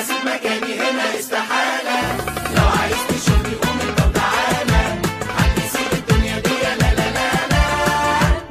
حاسب مكاني هنا استحالة. لو عايز تشوفني قوم انت وتعالى، حد يسيب الدنيا دي لا لا لا لا.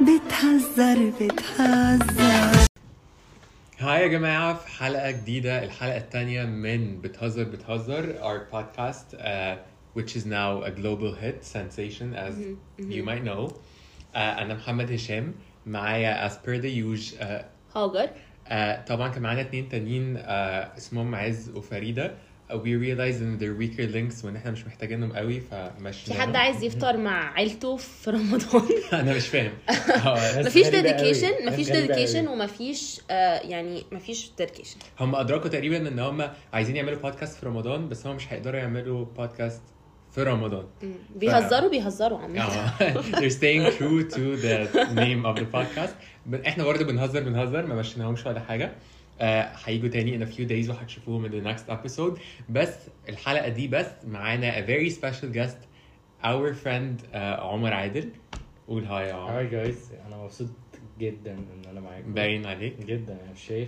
بتهزر. هاي يا جماعة، في حلقة جديدة، الحلقة الثانية من بتهزر our podcast which is now a global hit sensation as you might know. أنا محمد هشام، معايا as per the usual هاجر. طبعا كان معانا 2 تانيين اسمهم عز وفريدة. we realized in their weaker links وان احنا مش محتاجينهم قوي فمشينا. في حد عايز يفطر مع عيلته في رمضان؟ انا مش فاهم. مفيش dedication ومفيش يعني مفيش dedication. هم ادركوا تقريبا ان هم عايزين يعملوا بودكاست في رمضان، بس هم مش هيقدروا يعملوا بودكاست في رمضان. بيهزروا عامة. they're staying true to the name of the podcast. احنا برضه بنهزر ما مشيناهمش ولا حاجه. هيجوا تاني in a few days وهتشوفوهم in the next episode. بس الحلقه دي بس معانا a very special guest, our friend عمر عادل. قول هاي يا عمر. هاي جايز، انا مبسوط جدا ان انا معاكم. باين عليك جدا، انا شايف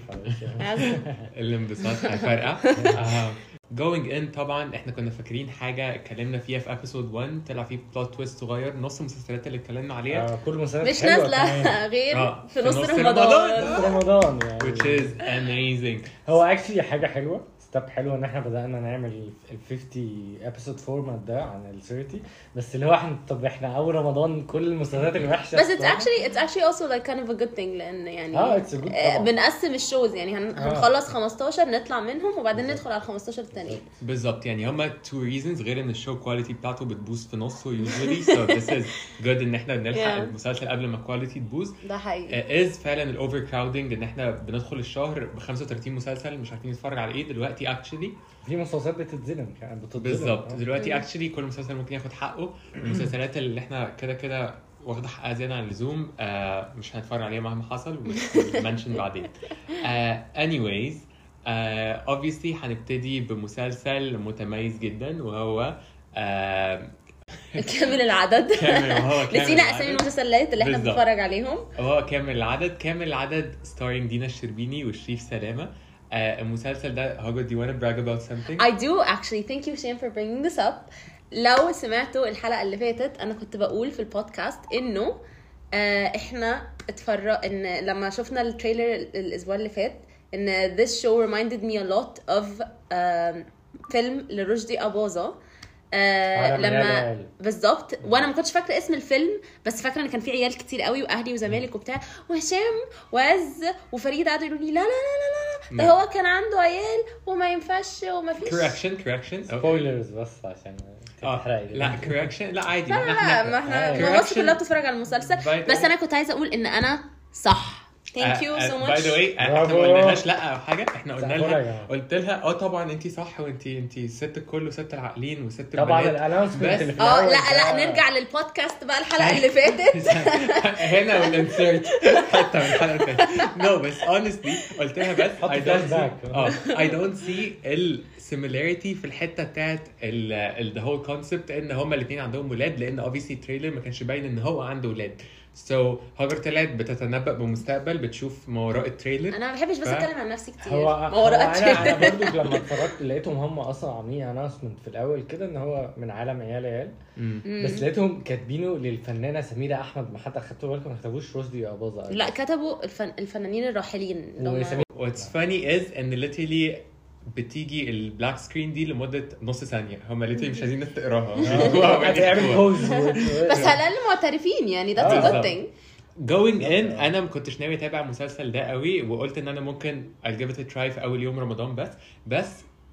الانبساط هيفرقع. going in طبعا احنا كنا فاكرين حاجه اتكلمنا فيها في episode 1 طلع فيه بلوت تويست صغير. نص المسلسلات اللي اتكلمنا عليها كل مسلسلات مش نازله غير في نص رمضان يعني which is amazing. هو actually حاجه حلوه، ستيب حلوه ان احنا بدانا نعمل ال 50 episode format ده عن ال 30. بس اللي هو احنا اول رمضان كل المسلسلات الوحشه. بس it's actually also like kind of a good thing، لان يعني بنقسم الشوز يعني هنخلص 15 نطلع منهم وبعدين ندخل على 15 التانيين بالظبط. يعني هما 2 reasons، غير ان الشو كواليتي بتاعته بتبوظ في نصه usually so this is good ان احنا بنلحق المسلسل قبل ما الكواليتي تبوظ. ده حقيقي. فعلا الاوفر كراودنج ان احنا بندخل الشهر ب 35 مسلسل مش عارفين نتفرج على ايه. دلوقتي actually في مسلسلات بتتظلم بالظبط. دلوقتي actually كل مسلسل ممكن ياخد حقه. المسلسلات اللي احنا كده واخده حقها زياده عن اللزوم مش هنتفرج عليها مهما حصل ومنشن بعدين. anyways obviously هنبتدي بمسلسل متميز جدا وهو كامل العدد. نسينا اسامي المسلسلات اللي احنا بنتفرج عليهم. هو كامل العدد starring دينا الشربيني وشريف سلامة. المسلسل ده Hagar, do you want to brag about something? I do actually. Thank you Shane for bringing this up. لو سمعتوا الحلقة اللي فاتت أنا كنت بقول في البودكاست إنه إحنا إن لما شفنا التريلر الأسبوع اللي فات إن this show reminded me a lot of فيلم لرشدي أباظة. لما بالظبط. وانا ما كنتش فاكره اسم الفيلم، بس فاكره ان كان في عيال كتير قوي واهلي وزمالك وبتاع وهشام وعز وفريده قعدوا يقولوا لي لا لا لا لا لا ده هو كان عنده عيال وما ينفعش وما فيش correction سبويلرز بس عشان لا correction لا عادي. ما احنا مصر كلها بتتفرج على المسلسل. بس انا كنت عايزه اقول ان انا صح. Thank you so much. By the way احنا ما قلناش لا او حاجه. احنا قلنا لها قلت لها طبعا انت صح وانت ست الكل وست العاقلين وست البنات. طبعا الاناونسمنت اللي في لا نرجع للبودكاست بقى الحلقه اللي فاتت هنا والانسيرت حتى من الحلقه اللي فاتت. نو بس honestly قلت لها بس I don't see السيميلاريتي في الحته بتاعت the whole concept ان هما الاثنين عندهم ولاد، لان obviously التريلر ما كانش باين ان هو عنده ولاد. هاجر طلعت بتتنبأ بمستقبل، بتشوف ما وراء التريلر. انا ما بحبش بس اتكلم عن نفسي كتير. ما وراء التريلر انا برضو لما اتفرجت لقيتهم هم اصلا عاملين اناونسمنت في الاول كده ان هو من عالم عيال بس لقيتهم كاتبينه للفنانه سميره احمد. ما حد اخدتوا بالكم ما كتبوش رشدي أباظة؟ لا كتبوا الفنانين الراحلين. What's funny is ان literally بتيجي البلاك سكرين دي لمده نص ثانيه. هم ليتلي مش عايزين الناس تقراها. هتعمل بوز بس على الاقل معترفين يعني that's a good thing. going in انا ما كنتش ناوي اتابع المسلسل ده قوي، وقلت ان انا ممكن I'll give it a try في اول يوم رمضان. بس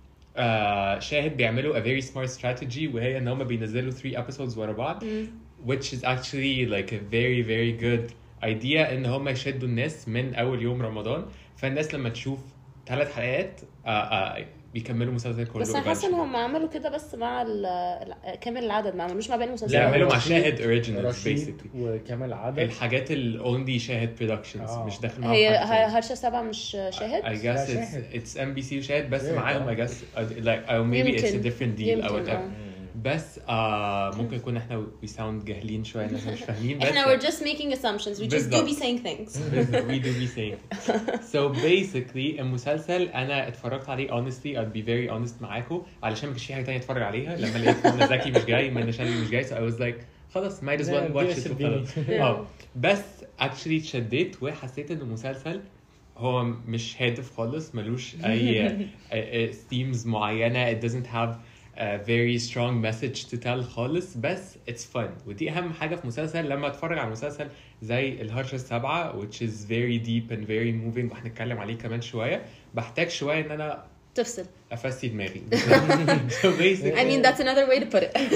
شاهد بيعملوا a very smart strategy وهي ان هم بينزلوا 3 episodes ورا بعض which is actually like a very very good idea ان هم يشدوا الناس من اول يوم رمضان. فالناس لما تشوف 3 حلقات بيكملوا مسلسل كله. بس انا حاسه ان هم عملوا كده بس مع كامل العدد، ما عملوش مع باقي المسلسلات. لا عملوا مع شاهد اوريجينالز بيسيكلي وكامل العدد الحاجات الاونلي شاهد برودكشنز مش داخل معاهم. هي هرشه 7 مش شاهد. I guess it's NBC وشاهد بس معاهم I guess like or maybe it's a different deal or whatever. بس ممكن يكون احنا we sound جاهلين شويه ان احنا مش فاهمين بس احنا we're just making assumptions we just do be saying things. we do be saying. So basically المسلسل انا اتفرجت عليه honestly I'll be very honest معاكم علشان ما كانش في حاجه تانية اتفرج عليها لما لقيت منى زكي مش جاي منى شلبي مش جاي so I was like خلاص might as well watch it وخلاص. بس actually اتشديت وحسيت ان المسلسل هو مش هادف خالص ملوش اي themes معينه it doesn't have a very strong message to tell خالص بس it's fun ودي اهم حاجه في مسلسل لما اتفرج على مسلسل زي الهرشة السابعة which is very deep and very moving وهنتكلم عليه كمان شويه بحتاج شويه ان انا تفصل افسي دماغي. So basically I mean that's another way to put it.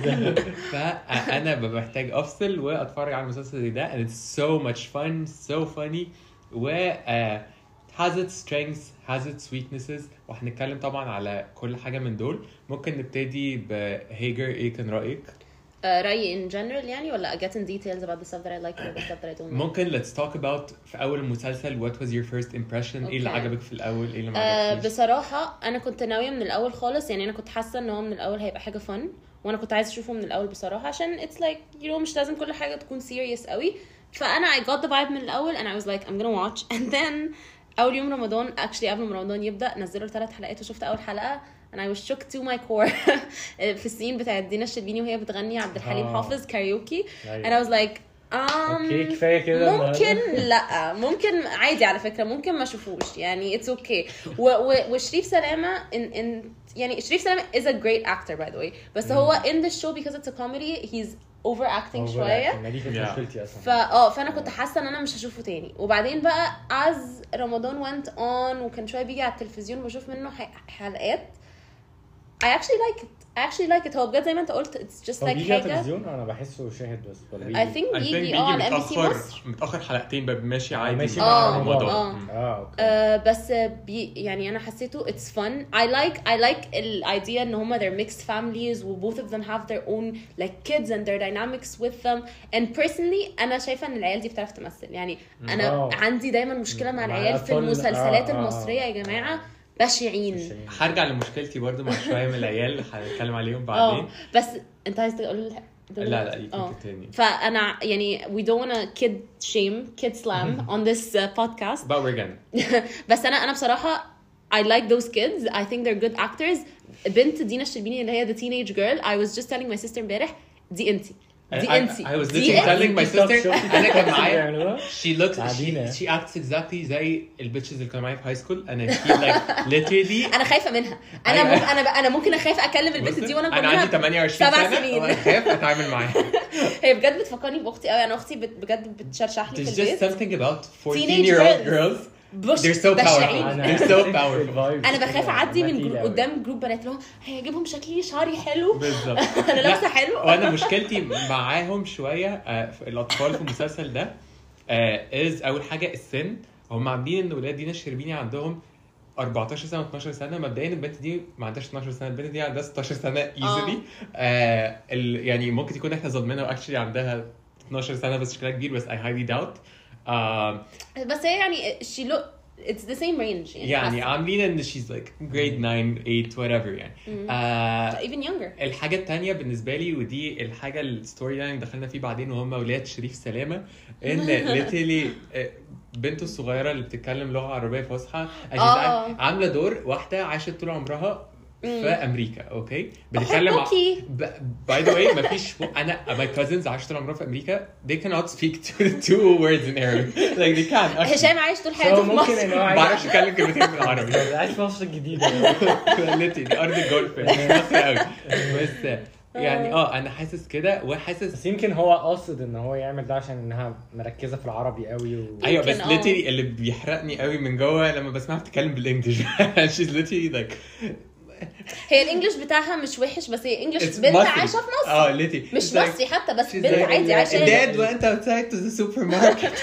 فانا بحتاج افصل واتفرج على المسلسل زي ده and it's so much fun so funny و has its strengths has its weaknesses وهنتكلم طبعا على كل حاجه من دول. ممكن نبتدي بهيجر ايه كان رايك؟ رأيي in general يعني ولا get in details about the stuff that I like or the stuff that I don't like. ممكن let's talk about في اول المسلسل what was your first impression ايه اللي عجبك في الاول ايه اللي ما عجبكش؟ بصراحه انا كنت ناويه من الاول خالص يعني انا كنت حاسه ان هو من الاول هيبقى حاجه fun وانا كنت عايزه اشوفه من الاول بصراحه عشان it's like you know مش لازم كل حاجه تكون serious قوي فانا I got the vibe من الاول and I was like I'm gonna watch and then اول يوم رمضان actually قبل ما رمضان يبدا نزلوا 3 حلقات وشفت اول حلقه and I was shook to my core في السين بتاع دينا الشربيني وهي بتغني عبد الحليم حافظ كاريوكي and I was like اوكي كفايه كده ممكن لا ممكن عادي على فكره ممكن ما اشوفوش يعني it's okay وشريف سلامه in يعني شريف سلامه is a great actor by the way بس هو in the show because it's a comedy he's overacting شويه ما دي كانت مشكلتي اصلا فانا كنت حاسه ان انا مش هشوفه تاني وبعدين بقى as رمضان went on وكان شويه بيجي على التلفزيون بشوف منه حلقات I actually like it هو بجد زي ما انت قلت it's just like بيجي على حاجه التلفزيون انا بحسه شاهد بس ولا I think بيجي على MBC مصر متاخر حلقتين ماشي عادي ماشي مع رمضان اوكي بس يعني انا حسيته it's fun I like the idea ان هما they're mixed families و both of them have their own like kids and their dynamics with them and personally انا شايفه ان العيال دي بتعرف تمثل يعني انا عندي دايما مشكله مع العيال في المسلسلات المصريه يا جماعه بشعين. هرجع لمشكلتي برضو مع شويه من العيال هنتكلم عليهم بعدين بس انت عايز تقول لا يمكن تاني فانا يعني we don't wanna kid slam on this podcast but we're gonna بس انا بصراحه I like those kids I think they're good actors بنت دينا الشربيني اللي هي the teenage girl I was just telling my sister امبارح دي انتي I was literally telling my sister أنا كان معايا she acts exactly زي البيتشز اللي كانوا معايا في high school أنا feel like literally أنا خايفة منها أنا ممكن أخاف أكلم البنت دي وأنا أنا عندي 28 سنة وأنا خايف أتعامل معاها هي بجد بتفكرني بأختي قوي أنا أختي بجد بتشرشح لي في البيت There's just something about 14-year-old girls they're so powerful انا بخاف اعدي من قدام جروب بنات لهم هيجيبهم شكلي شعري حلو بالظبط انا لابسه حلو وانا مشكلتي معاهم شويه الاطفال في المسلسل ده از اول حاجه السن هم عاملين ان ولاد دينا الشربيني عندهم 14 سنه 12 سنه مبدئيا البنت دي ما عندهاش 12 سنه البنت دي عندها 16 سنه ايزلي يعني ممكن تكون احنا ظلمنا واكشلي عندها 12 سنه بس شكلها كبير بس I highly doubt بس هي يعني she look it's the same range يعني عاملين ان she's like grade 9 8 whatever يعني even younger. الحاجه الثانيه بالنسبه لي ودي الحاجه الستوري لاين دخلنا فيه بعدين وهم اولاد شريف سلامه ان literally بنته الصغيره اللي بتتكلم لغه عربيه فصحى عامله دور واحده عاشت طول عمرها في امريكا اوكي بتتكلم باي ذا واي مفيش انا my cousins عاشوا طول عمرهم في امريكا they cannot speak two words in Arabic like they can't هشام عايش طول حياته في مصر ما بعرفش اتكلم كلمتين بالعربي عايش في مصر الجديده دي ارض الجولف مصر قوي بس يعني انا حاسس كده وحاسس بس يمكن هو قاصد ان هو يعمل ده عشان انها مركزه في العربي قوي ايوه بس ليتري اللي بيحرقني قوي من جوه لما بسمعها بتتكلم بالانجلش she's literally like هي الانجليش بتاعها مش وحش بس هي انجليش بنت عايشه في مصر ليتي مش مصري حتى بس بنت عادي عايشه dad went outside to the supermarket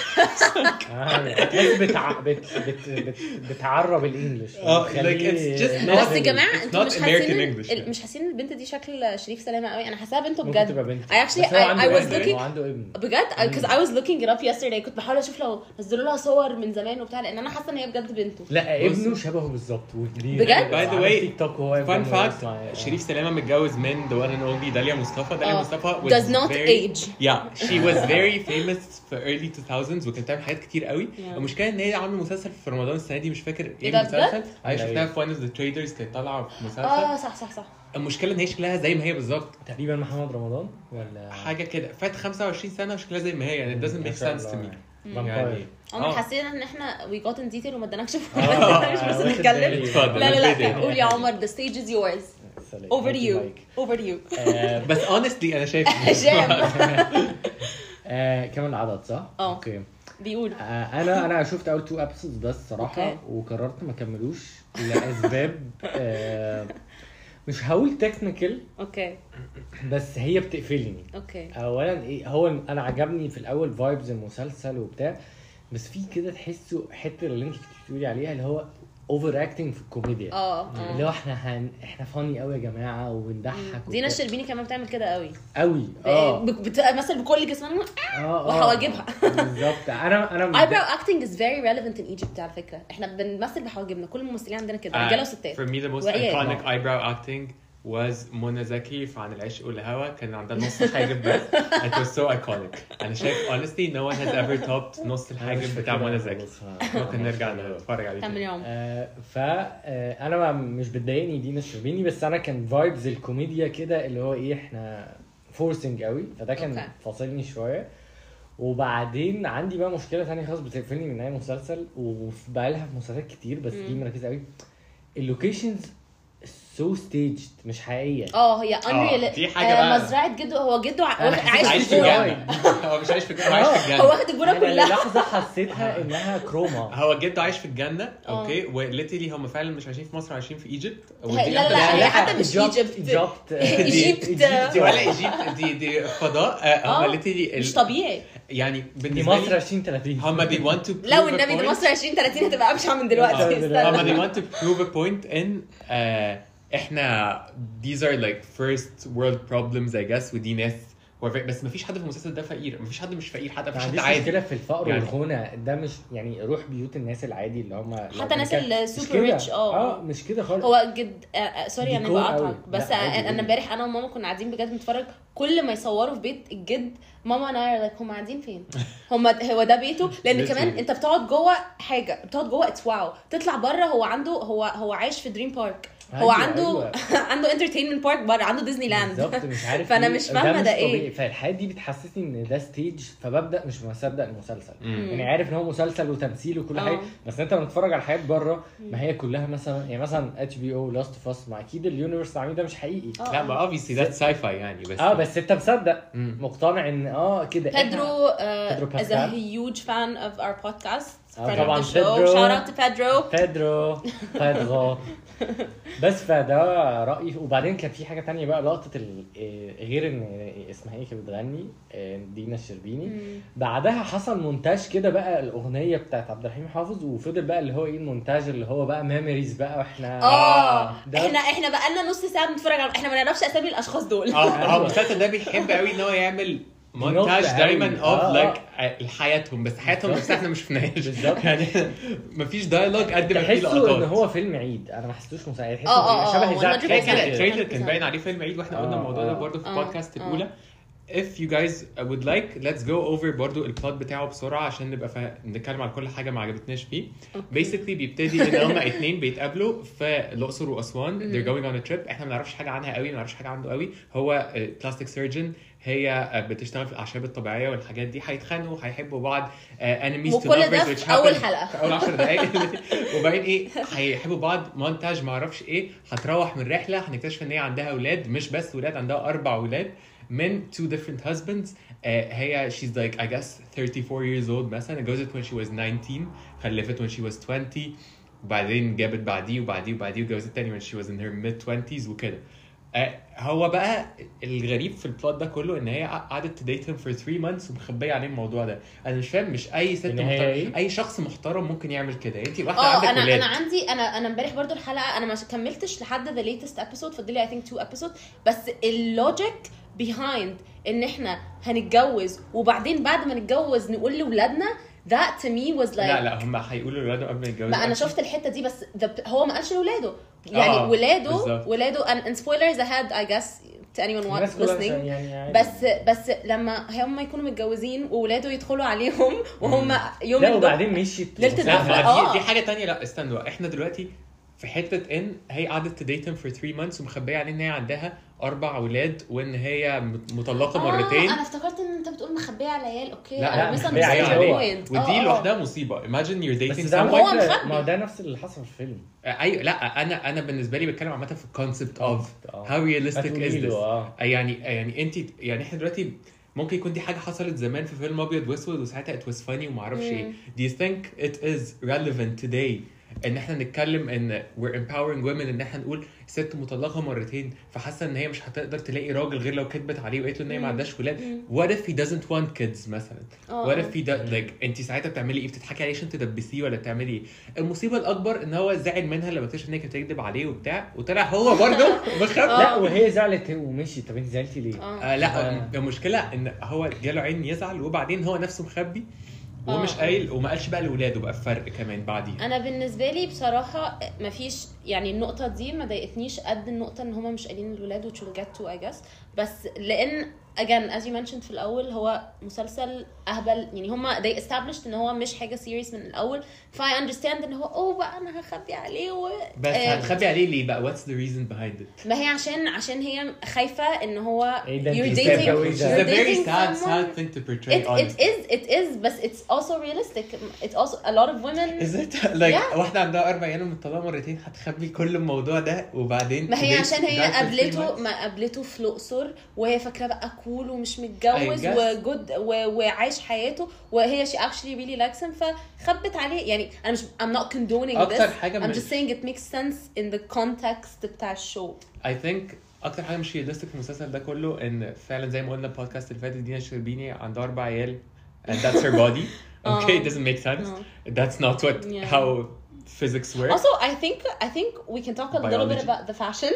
بتعرب الانجليش like it's just not بس يا جماعه انتوا مش حاسين البنت دي شكل شريف سلامه قوي انا حاساها بنته بجد I was looking عنده ابن بجد because I was looking it up yesterday كنت بحاول اشوف لو نزلوا لها صور من زمان وبتاع لان انا حاسه ان هي بجد بنته لا ابنه شبهه بالظبط وكبير بجد by the way تيك توك هو fun فان فاكت اسمها- شريف سلامه متجوز من the one and only داليا مصطفى. داليا مصطفى was does not age. yeah she was very famous في early 2000s وكانت بتعمل حاجات كتير قوي. Yeah. المشكله ان هي عامله مسلسل في رمضان السنه دي مش فاكر ايه ده المسلسل. بجد؟ انا شفتها أيوة. في one of the traders كانت طالعه في مسلسل. صح المشكله ان هي شكلها زي ما هي بالظبط تقريبا محمد رمضان ولا حاجه كده فات 25 سنه وشكلها زي ما هي يعني it doesn't make sense to me يعني. انا حسينا ان احنا we got in detail وما ادناكش مش بس واخد نتكلم. بالي. اتفضل. لا قول يا عمر the stage is yours. over you بس honestly انا شايف هشام كمان العدد صح؟ اوكي بيقول انا شفت اول 2 ابيسودز بس صراحه أوكي. وقررت ما اكملوش لاسباب مش هقول تكنيكال اوكي بس هي بتقفلني. اوكي اولا ايه هو انا عجبني في الاول فايبز المسلسل وبتاع بس في كده تحسه حته اللي انت بتقولي عليها اللي هو اوفر اكتنج في الكوميديا اللي هو احنا فاني قوي يا جماعه وبنضحك دينا الشربيني كمان بتعمل كده قوي مثلا بكل جسمها وحواجبها بالظبط. انا eyebrow acting is very relevant in Egypt على فكره. احنا بنمثل بحواجبنا كل الممثلين عندنا كده رجاله وستات. for me the most iconic eyebrow acting was منى زكي في عن العشق والهوى. كان عندها نص حاجب بس it was so iconic. انا شايف honestly no one has ever topped نص الحاجب بتاع منى زكي. ممكن نرجع نتفرج عليه كمل فانا مش بتضايقني دينا الشربيني بس انا كان فايبز الكوميديا كده اللي هو ايه احنا فورسنج قوي فده كان فاصلني شويه. وبعدين عندي بقى مشكله ثانيه خالص بتقفلني من اي مسلسل وبقى لها في مسلسلات كتير بس دي مركزه قوي. اللوكيشنز سو ستيجد مش حقيقيه. هي unreal. دي حاجه بقى مزرعه جده. هو جده عايش في الجنه. هو مش عايش في الجنه. عايش في الجنه. هو واخد الجنه كلها. لحظه حسيتها انها كروما. هو جده عايش في الجنه اوكي وليتلي هم فعلا مش عايشين في مصر عايشين في ايجيبت. لا هي حتى مش ايجيبت. دي ولا ايجيبت دي فضاء. هم ليتلي مش طبيعي يعني دي بالنسبه مصر لي 2030 هم they want to لو النبي دي مصر 2030 هتبقى ابشع من دلوقتي. هم they want to prove a point in احنا these are like first world problems I guess ودي ناس بس مفيش حد في المسلسل ده فقير. مفيش حد مش فقير حتى مفيش حد عادي. مشكله في الفقر يعني والغنى ده مش يعني روح بيوت الناس العادي اللي هم حتى الناس السوبر ريتش مش كده خالص. هو جد سوري انا بقاطعك بس انا امبارح انا وماما كنا قاعدين بجد بنتفرج. كل ما يصوروا في بيت الجد ماما انا هم قاعدين فين؟ هو ده بيته لان كمان انت بتقعد جوه حاجه بتقعد جوه اتس واو تطلع بره هو عايش في دريم بارك. هو عنده عنده انترتينمنت بارك بره عنده ديزني لاند بالظبط مش عارف فانا مش فاهمه ده ايه. فالحاجات دي بتحسسني ان ده ستيج فببدا مش مصدق المسلسل. يعني عارف ان هو مسلسل وتمثيل وكل حاجه بس انت لما تتفرج على حاجات بره ما هي كلها مثلا يعني مثلا HBO لاست اوف اس ما اكيد اليونيفرس عامل ده مش حقيقي. لا ما obviously that's sci-fi يعني بس انت مصدق مقتنع ان كده. Pedro is a huge fan of our podcast. طبعا shout out to Pedro. بس فده رأيي. وبعدين كان في حاجة تانية بقى لقطة غير ان اسمها ايه كانت بتغني دينا الشربيني بعدها حصل مونتاج كده بقى الأغنية بتاعت عبد الحليم حافظ وفضل بقى اللي هو ايه المونتاج اللي هو بقى ميموريز بقى واحنا احنا بقى لنا نص ساعة بنتفرج على احنا ما نعرفش اسامي الاشخاص دول. المسلسل ده بيحب قوي ان هو يعمل مونتاج دايما اوف لايك حياتهم بس حياتهم نفسها احنا مش شفناهاش بالظبط. يعني مفيش دايلوج قد ما في لقطات. ان هو فيلم عيد انا ما حسيتوش مساعد شبه زاك كده التريلر كان باين عليه فيلم عيد واحنا قلنا الموضوع ده برضه في البودكاست الاولى. if you guys would like let's go over برضو البلوت بتاعه بسرعه عشان نبقى نتكلم على كل حاجه ما عجبتناش فيه. basically بيبتدي ان هما اتنين بيتقابلوا في الاقصر واسوان. they're going on a trip. احنا ما نعرفش حاجه عنها قوي ما نعرفش حاجه عنده قوي. هو بلاستيك سيرجن هي بتشتغل في الاعشاب الطبيعيه والحاجات دي. هيتخانقوا هيحبوا بعض enemies to lovers which اول حلقه في اول 10 دقائق وبعدين ايه هيحبوا بعض مونتاج ما اعرفش ايه. هتروح من رحله هنكتشف ان هي عندها اولاد مش بس ولاد عندها 4 اولاد من 2 different husbands. هي she's like I guess 34 years old مثلا. اتجوزت when she was 19 خلفت when she was 20 وبعدين جابت بعديه وجوزت تاني when she was in her mid 20s وكده. هو بقى الغريب في البلوت ده كله ان هي قعدت تديت him for 3 months ومخبيه عليه الموضوع ده. انا مش فاهم مش اي ست محترم اي شخص محترم ممكن يعمل كده. انت واحده عندك ولاد. انا عندي انا امبارح برضو الحلقه انا ما كملتش لحد the latest episode فاضل لي I think 2 episodes بس اللوجيك behind ان احنا هنتجوز وبعدين بعد ما نتجوز نقول لاولادنا that to me was like لا هم هيقولوا لولاده قبل ما يتجوزوا. ما انا شفت الحته دي بس هو ما قالش لولاده يعني ولاده and spoilers ahead I guess to anyone listening يعني بس لما هم يكونوا متجوزين وولاده يدخلوا عليهم وهم يوم لا وبعدين مشيت دي حاجه تانية. لا استنوا احنا دلوقتي في حته ان هي قعدت تديتهم for 3 months ومخبيه عليه ان هي عندها 4 اولاد وان هي مطلقه مرتين. انا افتكرت ان انت بتقول مخبيه على عيال. اوكي لا مخبيه عليه ودي لوحدها مصيبه. imagine you're dating someone ما ده نفس اللي حصل في الفيلم. ايوه لا انا بالنسبه لي بتكلم عامه في الكونسبت of how realistic is this. يعني انت يعني احنا دلوقتي ممكن يكون دي حاجه حصلت زمان في فيلم ابيض واسود وساعتها it was funny وما اعرفش ايه. Do you think it is relevant today ان احنا نتكلم ان we're empowering women ان احنا نقول ست مطلقه مرتين فحاسه ان هي مش هتقدر تلاقي راجل غير لو كدبت عليه وقالت له ان هي ما عندهاش ولاد. what if he doesn't want kids مثلا؟ what if he does like انت ساعتها بتعملي ايه؟ بتضحكي عليه عشان تدبسيه ولا بتعملي ايه؟ المصيبه الاكبر ان هو زعل منها لما اكتشف ان هي كانت بتكذب عليه وبتاع وطلع هو برضه مخبي. لا وهي زعلت ومشي. طب انت زعلتي ليه؟ لا المشكله ان هو جاله عين يزعل وبعدين هو نفسه مخبي ومش قايل وما قالش بقى لاولاده بقى فرق كمان بعدين. انا بالنسبه لي بصراحه مفيش يعني النقطه دي ما ضايقتنيش قد النقطه ان هما مش قايلين للاولاد which we'll get to I guess. بس لان again as you mentioned في الاول هو مسلسل اهبل يعني هما they established ان هو مش حاجه serious من الاول ف I understand ان هو بقى انا هخبي عليه بس هتخبي عليه ليه بقى؟ what's the reason behind it؟ ما هي عشان هي خايفه ان هو you're dating it's a very sad thing to portray. it is but it's also realistic. It's also a lot of women is it like واحده عندها 4 عيال ومطلقه مرتين هتخبي كل الموضوع ده وبعدين ما هي عشان هي قابلته في الأقصر وهي فاكره بقى كول ومش متجوز وجود وعايش حياته وهي she actually really likes him فخبت عليه يعني انا مش I'm not condoning this I'm just saying it makes sense in the context بتاع الشو. I think اكتر حاجه مش realistic في المسلسل ده كله ان فعلا زي ما قلنا البودكاست اللي فاتت دينا الشربيني عندها 4 عيال and that's her body. Okay, it doesn't make sense. That's not what how physics works. Also, I think we can talk a little bit about the fashion.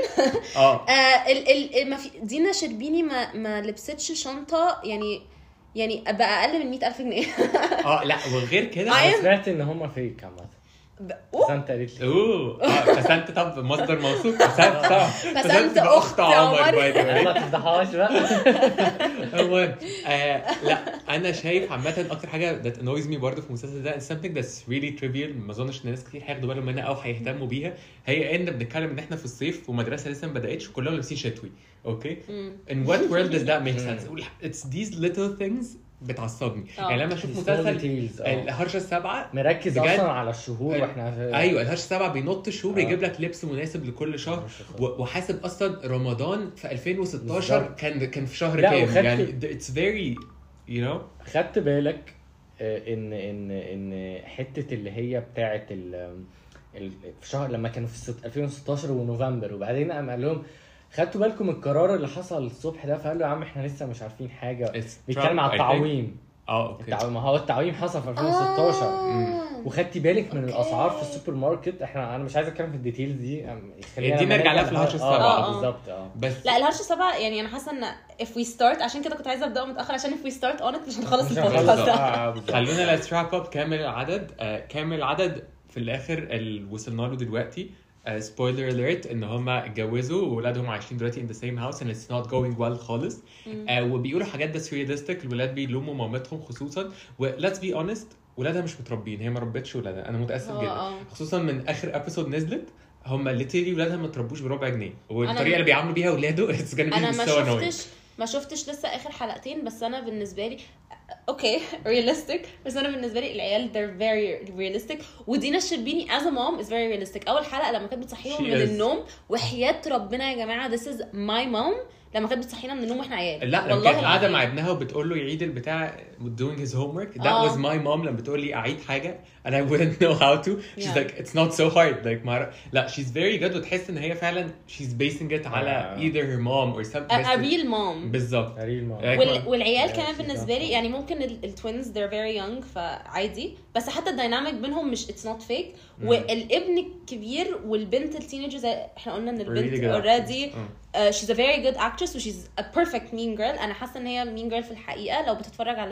ما في دينا شربيني ما لبستش شنطة يعني بقى أقل من 100,000 جنيه. لا وغير كده أنا سمعت إن هما فيك عامة. فسنت قالت لي فسنت طب مصدر موثوق. فسنت أخت عمر. ما تفضحهاش بقى. لا انا شايف عامه اكتر حاجه that annoys me برضه في المسلسل ده something that's really trivial ما اظنش ان ناس كتير هياخدوا بالهم منها او هيهتموا بيها هي ان بنتكلم ان احنا في الصيف ومدرسه لسه ما بداتش وكلهم لابسين شتوي. اوكي in what world does that make sense? it's these little things بتعصبني. يعني لما اشوف مسلسل الهرشه السبعه مركز اصلا على الشهور واحنا ايوه الهرشه السبعه بينط الشهور بيجيب لك لبس مناسب لكل شهر وحاسب اصلا رمضان في 2016 كان في شهر كام يعني it's very you know. خدت بالك ان حته اللي هي بتاعه في شهر لما كانوا في 2016 ونوفمبر وبعدين قال لهم خدتوا بالكم القرار اللي حصل الصبح ده فقال له يا عم احنا لسه مش عارفين حاجه بيتكلم على التعويم. اوكي ما هو التعويم حصل في 2016 وخدتي بالك من الاسعار في السوبر ماركت. انا مش عايز اتكلم في الديتيلز دي نرجع لها في الهرشه السبعه بالظبط. بس لا الهرشه السبعه يعني انا حاسه ان if we start عشان كده كنت عايزه ابدا متاخر عشان if we start on it مش هنخلص البودكاست ده. خلونا let's wrap up كامل العدد في الاخر اللي وصلنا له دلوقتي. spoiler alert ان هما اتجوزوا وولادهم عايشين دلوقتي in the same house and it's not going well خالص. وبيقولوا حاجات that's realistic. الولاد بيلوموا مامتهم خصوصا let's be honest ولادها مش متربين. هي ما ربتش ولادها. انا متاسف جدا خصوصا من اخر ابيسود نزلت هم ليتري ولادها ما تربوش بربع جنيه والطريقه اللي بيعاملوا بيها ولاده it's gonna be so annoying. ما شفتش لسه اخر حلقتين بس انا بالنسبه لي اوكي realistic بس انا بالنسبه لي العيال they're very realistic ودينا الشربيني as a mom is very realistic. اول حلقه لما كانت بتصحيهم من النوم وحياه ربنا يا جماعه this is my mom لما كانت بتصحينا من النوم واحنا عيال. لا لما كانت قاعده مع ابنها وبتقول له يعيد البتاع doing his homework that was my mom لما بتقول لي اعيد حاجه and I wouldn't know how to she's like it's not so hard like لا she's very good وتحس ان هي فعلا she's basing it على either her mom or something a real mom بالظبط والعيال كمان بالنسبه لي يعني ممكن التوينز they're very young فعادي بس حتى الديناميك بينهم مش it's not fake. والابن الكبير والبنت التينيجر زي احنا قلنا ان البنت already she's a very good actress و she's a perfect mean girl. انا حاسه ان هي mean girl في الحقيقه لو بتتفرج على ده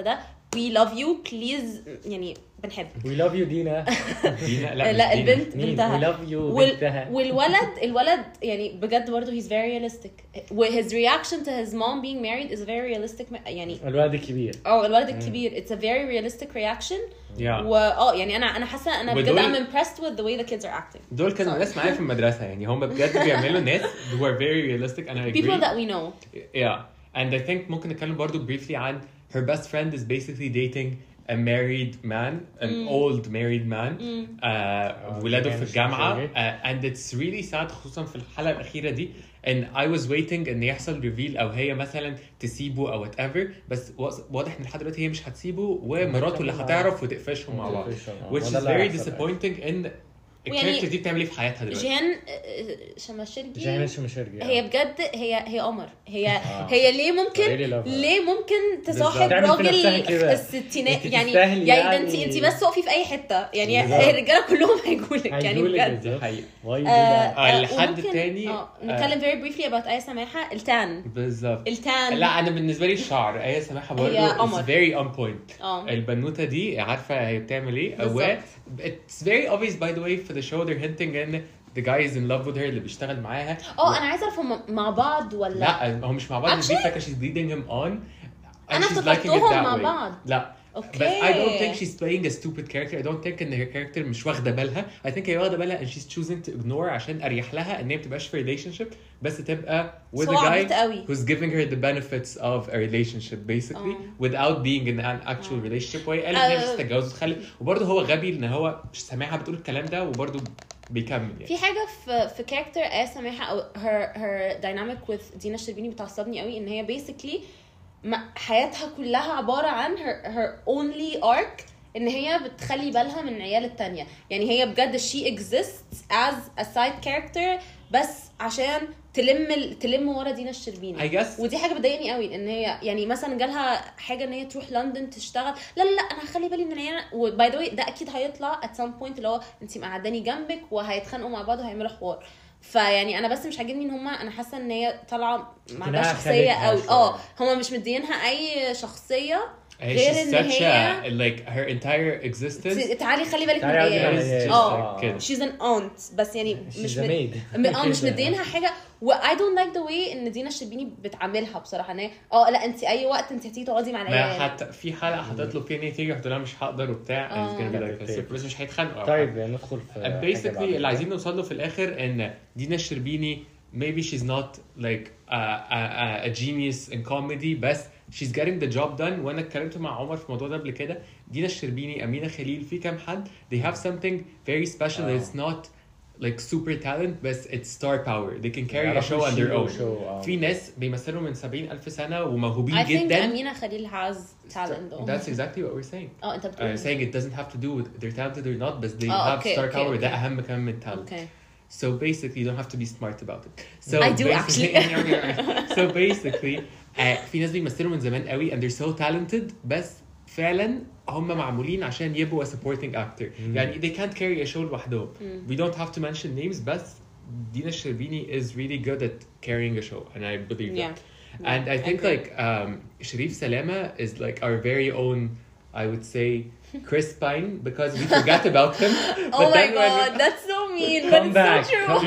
we love you please يعني بنحب we love you دينا. دينا لا البنت مين بنتها we love you بنتها. والولد يعني بجد برضه he's very realistic. his reaction to his mom being married is very realistic يعني الولد الكبير. الولد الكبير it's a very realistic reaction. يعني انا حاسه انا بجد I'm impressed with the way the kids are acting. دول كانوا ناس معايا في المدرسه يعني هم بجد بيعملوا ناس who are very realistic and I agree. people that we know. And I think ممكن نتكلم برضو briefly عن her best friend is basically dating a married man, an old married man. ولاده في الجامعة. And it's really sad خصوصا في الحلقة الأخيرة دي. And I was waiting إن يحصل reveal أو هي مثلا تسيبه أو whatever. بس واضح إن لحد دلوقتي هي مش هتسيبه ومراته اللي هتعرف وتقفشهم مع بعض. Which is very disappointing إن الكاركتر دي بتعمل ايه في حياتها دلوقتي. جيهان شماشرجي هي بجد هي قمر. هي ليه ممكن تصاحب راجل في الستينات يعني ده انت بس وقفي في اي حته يعني الرجاله كلهم هيجولك يعني بجد حقيقي. الحد الثاني نتكلم very briefly about آية سماحة. بالظبط التان لا انا بالنسبه لي الشعر آية سماحة برضه is very on point. البنوته دي عارفه هي بتعمل ايه. It's very obvious by the way for the show they're hinting in the guy is in love with her اللي بيشتغل معاها. انا عايزه اعرف هم مع بعض ولا لا هم مش مع بعض. دي فاكره she's leading him on انا افتكرتهم مع بعض. لا اوكي but I don't think she's playing a stupid character. I don't think ان her character مش واخده بالها. I think هي واخده بالها and she's choosing to ignore عشان اريح لها ان هي ما تبقاش في relationship بس تبقى with a guy who's giving her the benefits of a relationship basically without being in an actual relationship. وهي قالت ان هي مش هتتجوز وتخلف وبرضه هو غبي ان هو مش سامعها بتقول الكلام ده وبرضه بيكمل يعني. في حاجه في كاركتر آية سماحة او her dynamic with دينا الشربيني بتعصبني قوي ان هي basically حياتها كلها عبارة عن her only arc ان هي بتخلي بالها من عيال التانية. يعني هي بجد she exists as a side character بس عشان تلم ورا دينا الشربيني. ودي حاجة بتضايقني قوي ان هي يعني مثلا جالها حاجة ان هي تروح لندن تشتغل. لا انا هخلي بالي من العيال. وباي ذا واي ده اكيد هيطلع at some point اللي هو انتي مقعداني جنبك وهيتخانقوا مع بعض وهيعملوا حوار. فيعني انا بس مش عاجبني ان هما انا حاسه ان هي طالعه ما عندهاش شخصيه قوي. هما مش مدينها اي شخصيه غير ان هي like her entire existence. تعالي خلي بالك من العيال. she's an aunt بس يعني مش مدينها حاجه. و I don't like the way ان دينا الشربيني بتعاملها بصراحه ان هي لا انت اي وقت انت هتيجي تقعدي مع العيال. حتى في حلقه هتطلب فيها ان هي تيجي هتقول لها مش هقدر وبتاع بس مش هيتخانقوا. طيب ندخل في basically اللي عايزين نوصل له في الاخر ان دينا الشربيني maybe she's not like a genius in comedy بس she's getting the job done. وانا اتكلمت مع عمر في الموضوع ده قبل كده. دينا الشربيني أمينة خليل في كام حد they have something very special that it's not like super talent but it's star power. They can carry a show on their own. في ناس بيمثلوا من 70,000 سنة وموهوبين جدا. I think أمينة خليل has talent though. That's exactly what we're saying. أنت بتقول. I'm saying it doesn't have to do with they're talented or not but they have star power. ده أهم كمان من talent. So basically you don't have to be smart about it. So I do actually. So basically في ناس بيمثلوا من زمان قوي and they're so talented بس فعلا هم معمولين عشان يبقوا a supporting actor. يعني they can't carry a show لوحدهم. We don't have to mention names بس دينا الشربيني is really good at carrying a show and I believe that. And I think like Sharif Salama is like our very own I would say Chris Pine because we forgot about him. Oh my god, that's so mean, but it's so true.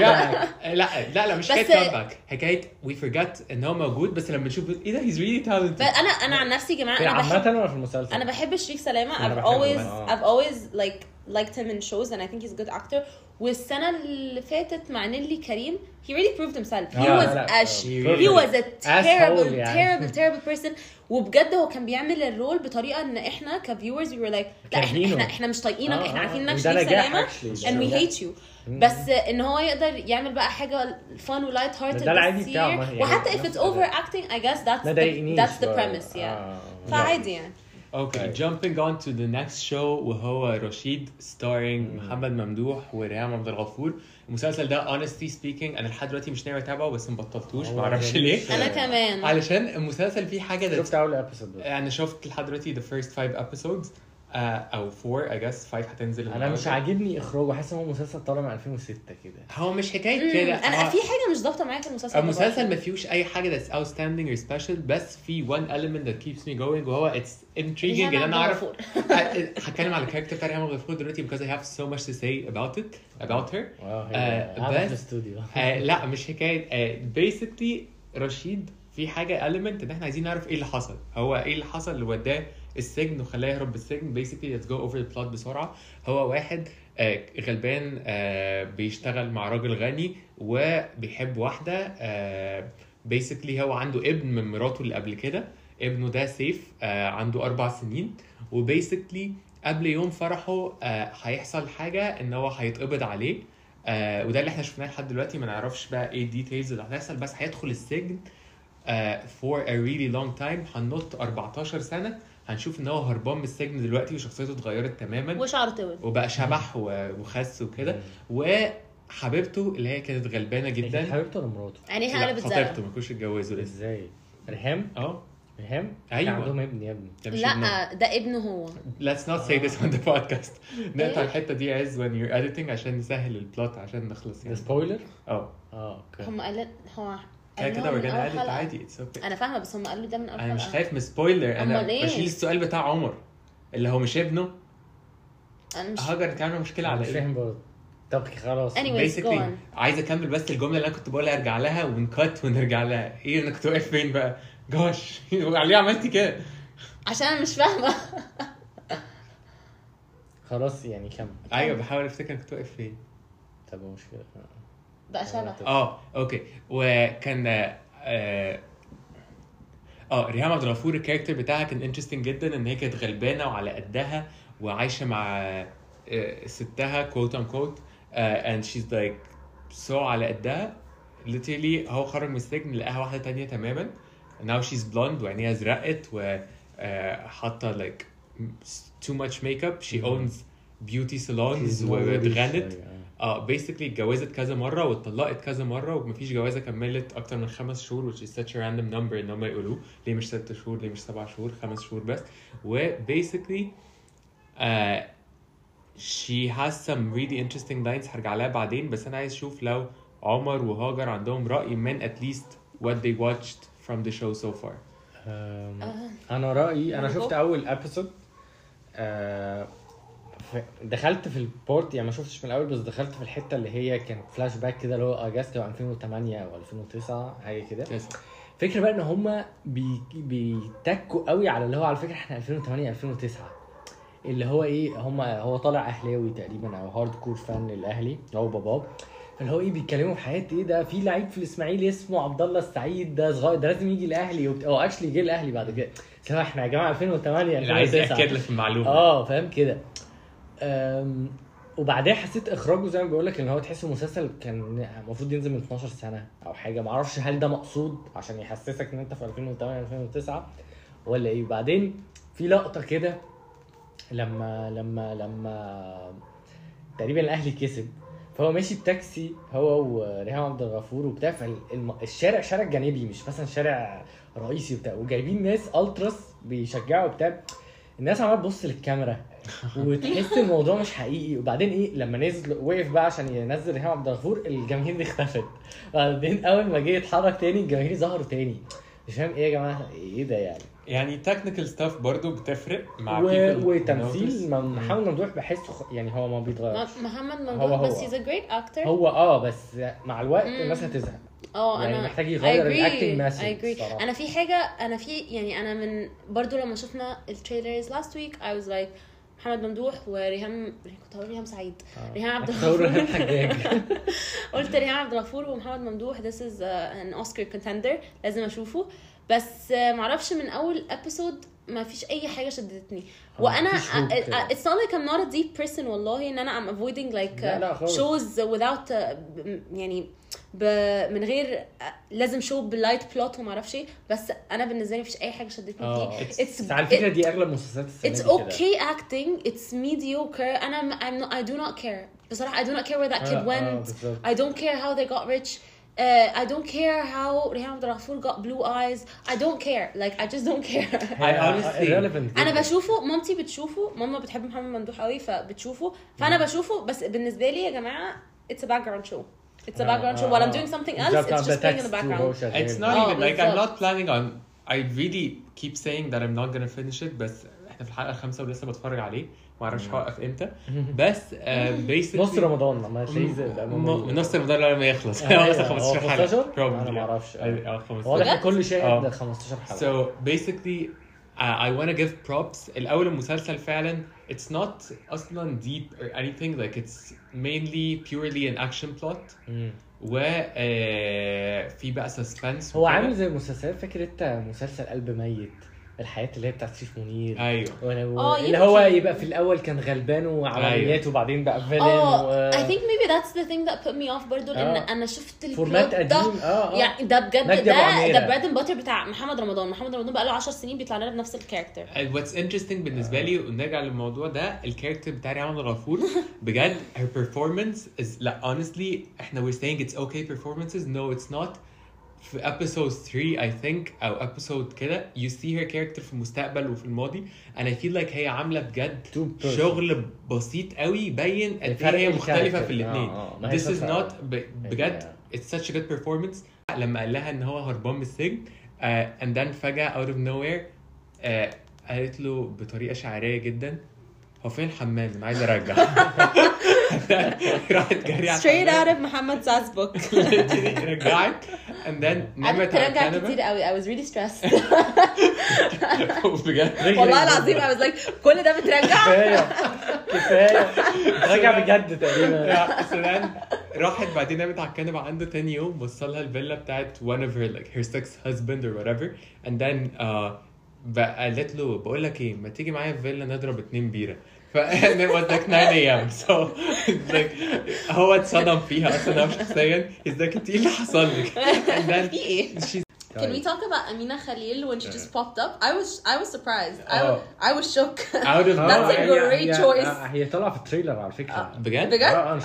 لا مش حكاية comeback. حكاية we forgot إن هو موجود بس لما نشوف إيه ده he's really talented. أنا عن نفسي يا جماعة أنا عامة ولا في المسلسل؟ أنا بحب شريف سلامة. I've always liked him in shows and I think he's a good actor. والسنة اللي فاتت مع نيلي كريم he really proved himself. He was a terrible person. وبجد هو كان بيعمل الرول بطريقة ان احنا كviewers we were like لا احنا مش طايقينك. احنا عارفين انك شريف سلامة and we hate you. بس ان هو يقدر يعمل بقى حاجة fun و light hearted وحتى if it's overacting I guess that's the premise. فعادي يعني. Okay, jumping on to the next show وهو رشيد starring محمد ممدوح وريهام عبد الغفور. المسلسل ده honestly speaking انا لحد دلوقتي مش ناوي اتابعه بس مبطلتوش ما اعرفش ليه. انا كمان علشان المسلسل فيه حاجه شفت اول ابيسود. انا شفت لحد دلوقتي the first 5 episodes او 4 I guess 5 هتنزل. انا مش عاجبني اخراجه. حاسس ان هو مسلسل طالع من 2006 كده. هو مش حكايه كده. انا في حاجه مش ضابطه معايا في المسلسل. المسلسل ما فيهوش اي حاجه that's outstanding or special، بس في one element that keeps me going وهو it's intriguing ان انا اعرف. هتكلم على الكاركتر بتاع ريهام عبد الغفور دلوقتي because I have so much to say about her. بس الاستوديو لا مش حكايه. basically رشيد في حاجه element ان احنا عايزين نعرف ايه اللي حصل، هو ايه اللي حصل اللي وداه السجن وخلاه يهرب بالسجن. basically let's go over the plot بسرعه. هو واحد غلبان بيشتغل مع راجل غني وبيحب واحدة. basically هو عنده ابن من مراته اللي قبل كده، ابنه ده سيف عنده 4 سنين، وبيسكلي قبل يوم فرحه هيحصل حاجة ان هو هيتقبض عليه. وده اللي احنا شفناه لحد دلوقتي، ما نعرفش بقى ايه الديتيلز اللي هتحصل، بس هيدخل السجن for a really long time. هننط 14 سنة هنشوف ان هو هربان من السجن دلوقتي وشخصيته اتغيرت تماما وشعره طول وبقى شبح وخس وكده. وحبيبته اللي هي كانت غلبانه جدا، حبيبته ولا مراته؟ يعني هي قلبت زرقاء. خطيبته ما كانوش اتجوزوا لسه. ازاي؟ ريهام ايوه عندهم ابن يا ابني. لا ده ابنه هو. let's not say this on the podcast. نقطع الحته دي عز when you're editing عشان نسهل البلوت عشان نخلص يعني. سبويلر. اوكي هم قال هو كده ورجعنا edit عادي. it's okay. انا فاهمه بس هم قالوا ده من اول حلقه. انا مش خايف من سبويلر، انا بشيل السؤال بتاع عمر اللي هو مش ابنه. انا مش هاجر انت عامله مشكله على مش فاهم برضه. طب خلاص basically عايز اكمل بس الجمله اللي انا كنت بقولها ارجع لها ونكت ونرجع لها. ايه انا كنت واقف فين بقى؟ جوش عليه عملتي كده عشان انا مش فاهمه. خلاص يعني كمل. ايوه بحاول افتكر كنت واقف فين. طب مشكله بقى شبه. اوكي. وكان ريهام عبد الغفور الكاركتر بتاعها كان انترستنج جدا، ان هي كانت غلبانه وعلى قدها وعايشه مع ستها quote unquote and she's like so على قدها literally. هو خرج من السجن لقاها واحده تانية تماما now she's blonde وعينيها زرقت وحاطه like too much makeup. she owns beauty salons واتغنت. basically اتجوزت كذا مرة واتطلقت كذا مرة ومفيش جوازة كملت أكتر من 5 شهور which is such a random number إن هم يقولوه. ليه مش 6 شهور؟ ليه مش 7 شهور؟ 5 شهور بس. و basically she has some really interesting lines هرجع لها بعدين، بس أنا عايز أشوف لو عمر وهاجر عندهم رأي من at least what they watched from the show so far. أنا رأيي أنا شفت أول episode. دخلت في البورت يعني ما شفتش من الاول، بس دخلت في الحته اللي هي كانت فلاش باك كده اللي هو اجازت 2008 او 2009 حاجه كده. فكره بقى ان هم بيتكوا قوي على اللي هو على فكره احنا 2008 2009 اللي هو ايه هو طالع اهلاوي تقريبا او هارد كور فان للاهلي هو باباه. فاللي هو ايه بيتكلموا في حياه ايه ده في لعيب في الاسماعيلي اسمه عبد الله السعيد ده صغير ده لازم يجي الاهلي او اكشلي جه الاهلي بعد كده. سواء احنا يا جماعه 2008 2009 عايز اكد لك المعلومه. فاهم كده. وبعدين حسيت اخراجه زي ما بقول لك ان هو تحسه مسلسل كان المفروض ينزل من 12 سنه او حاجه. ما اعرفش هل ده مقصود عشان يحسسك ان انت في 2008 2009 ولا ايه. بعدين في لقطه كده لما تقريبا الاهلي كسب، فهو ماشي بتاكسي هو وريهام عبد الغفور وبتاع. الشارع شارع جانبي مش مثلا شارع رئيسي وبتاع، وجايبين ناس التراس بيشجعوا بتاع. الناس عماله تبص للكاميرا وتحس الموضوع مش حقيقي. وبعدين ايه لما نزل وقف بقى عشان ينزل ريهام عبد الغفور الجماهير دي اختفت. بعدين اول ما جه يتحرك تاني الجماهير ظهروا تاني. مش فاهم ايه يا جماعه ايه ده يعني technical stuff برضو بتفرق مع وتمثيل محمد ممدوح بحسه يعني هو ما بيتغيرش. محمد ممدوح بس he's a great actor. هو بس مع الوقت الناس هتزهق. يعني انا محتاج يغير الاكتنج مسج. انا في حاجه يعني انا من برضو لما شفنا التريلرز last week I was like محمد ممدوح وريهام كنت هقول ريهام سعيد ريهام عبد الغفور قلت ريهام عبد الغفور ومحمد ممدوح this is an Oscar contender لازم اشوفه. بس معرفش من اول episode ما فيش اي حاجه شدتني. وانا it's not like I'm not a deep person والله ان انا I'm avoiding like shows without يعني من غير لازم شو باللايت بلوت وما اعرفش ايه. بس انا بالنسبه لي مفيش اي حاجه شدتني فيه. على فكره دي اغلب مسلسلات السنه it's okay acting it's mediocre. I do not care بصراحه. I do not care where that kid went. I don't care how they got rich. I don't care how ريهام عبد الغفور got blue eyes. I don't care like I just don't care. I honestly انا بشوفه مامتي بتشوفه. ماما بتحب محمد ممدوح قوي فبتشوفه فانا بشوفه. بس بالنسبه لي يا جماعه it's a background show. it's a background show while I'm doing something else it's just playing in the background. It's not even like I'm بالظبط. not planning on. I really keep saying that I'm not gonna finish it, بس احنا في الحلقة 5 ولسه بتفرج عليه، ما اعرفش هوقف امتى. بس basically نص رمضان لما تلاقيه نص رمضان لما يخلص مثلا 15 حلقة انا ما اعرفش 15. واضح كل شيء 15 حلقة. So basically I want to give props. الأول المسلسل فعلا it's not أصلا deep or anything, like it's mainly purely an action plot. و في بقى suspense. هو عامل زي مسلسل، فاكر انت مسلسل قلب ميت، الحياة اللي هي بتاعت سيف منير؟ ايوه اللي هو يبقى في الاول كان غلبان وعمليات وبعدين بقى فيلن. I think maybe that's the thing that put me off برضو لان انا شفت فورمات قديم. يعني ده بجد ده براد اند باتر بتاع محمد رمضان بقى له 10 سنين بيطلع لنا بنفس الكاركتر. What's interesting بالنسبه لي ونرجع للموضوع ده، الكاركتر بتاع ريهام غفور بجد her performance is like honestly احنا we're saying it's okay performances, no it's not. في episode 3 I think او episode كده you see her character في المستقبل وفي الماضي and I feel like هي عامله بجد شغل بسيط قوي يبين قد ايه هي مختلفه في الاثنين. This is not بجد it's such a good performance. لما قال لها ان هو هربان من السجن and then فجأة out of nowhere قالت له بطريقه شعريه جدا هو فين الحمام انا عايز ارجع. راحت جري على straight out of محمد سعد's book. رجعت and then نمت على ترجع الكنبه كتير قوي. I was really stressed. بجد والله العظيم I was like كل ده بترجع. كفايه رجع بجد تقريبا. راحت بعدين نامت على الكنبه عنده تاني يوم، وصلها الفيلا بتاعت one of her like her sex husband or whatever and then قالت له بقول لك ايه ما تيجي معايا في فيلا نضرب 2 بيره. ف it was like 9 a.m. so like هو اتصدم فيها اصلا شخصيا. he's like انت ايه اللي حصل لك and then Can we talk about Amina Khalil when she just popped up? I was surprised. I was shook. That's a great choice. هي طالعه في التريلر على فكره. بجد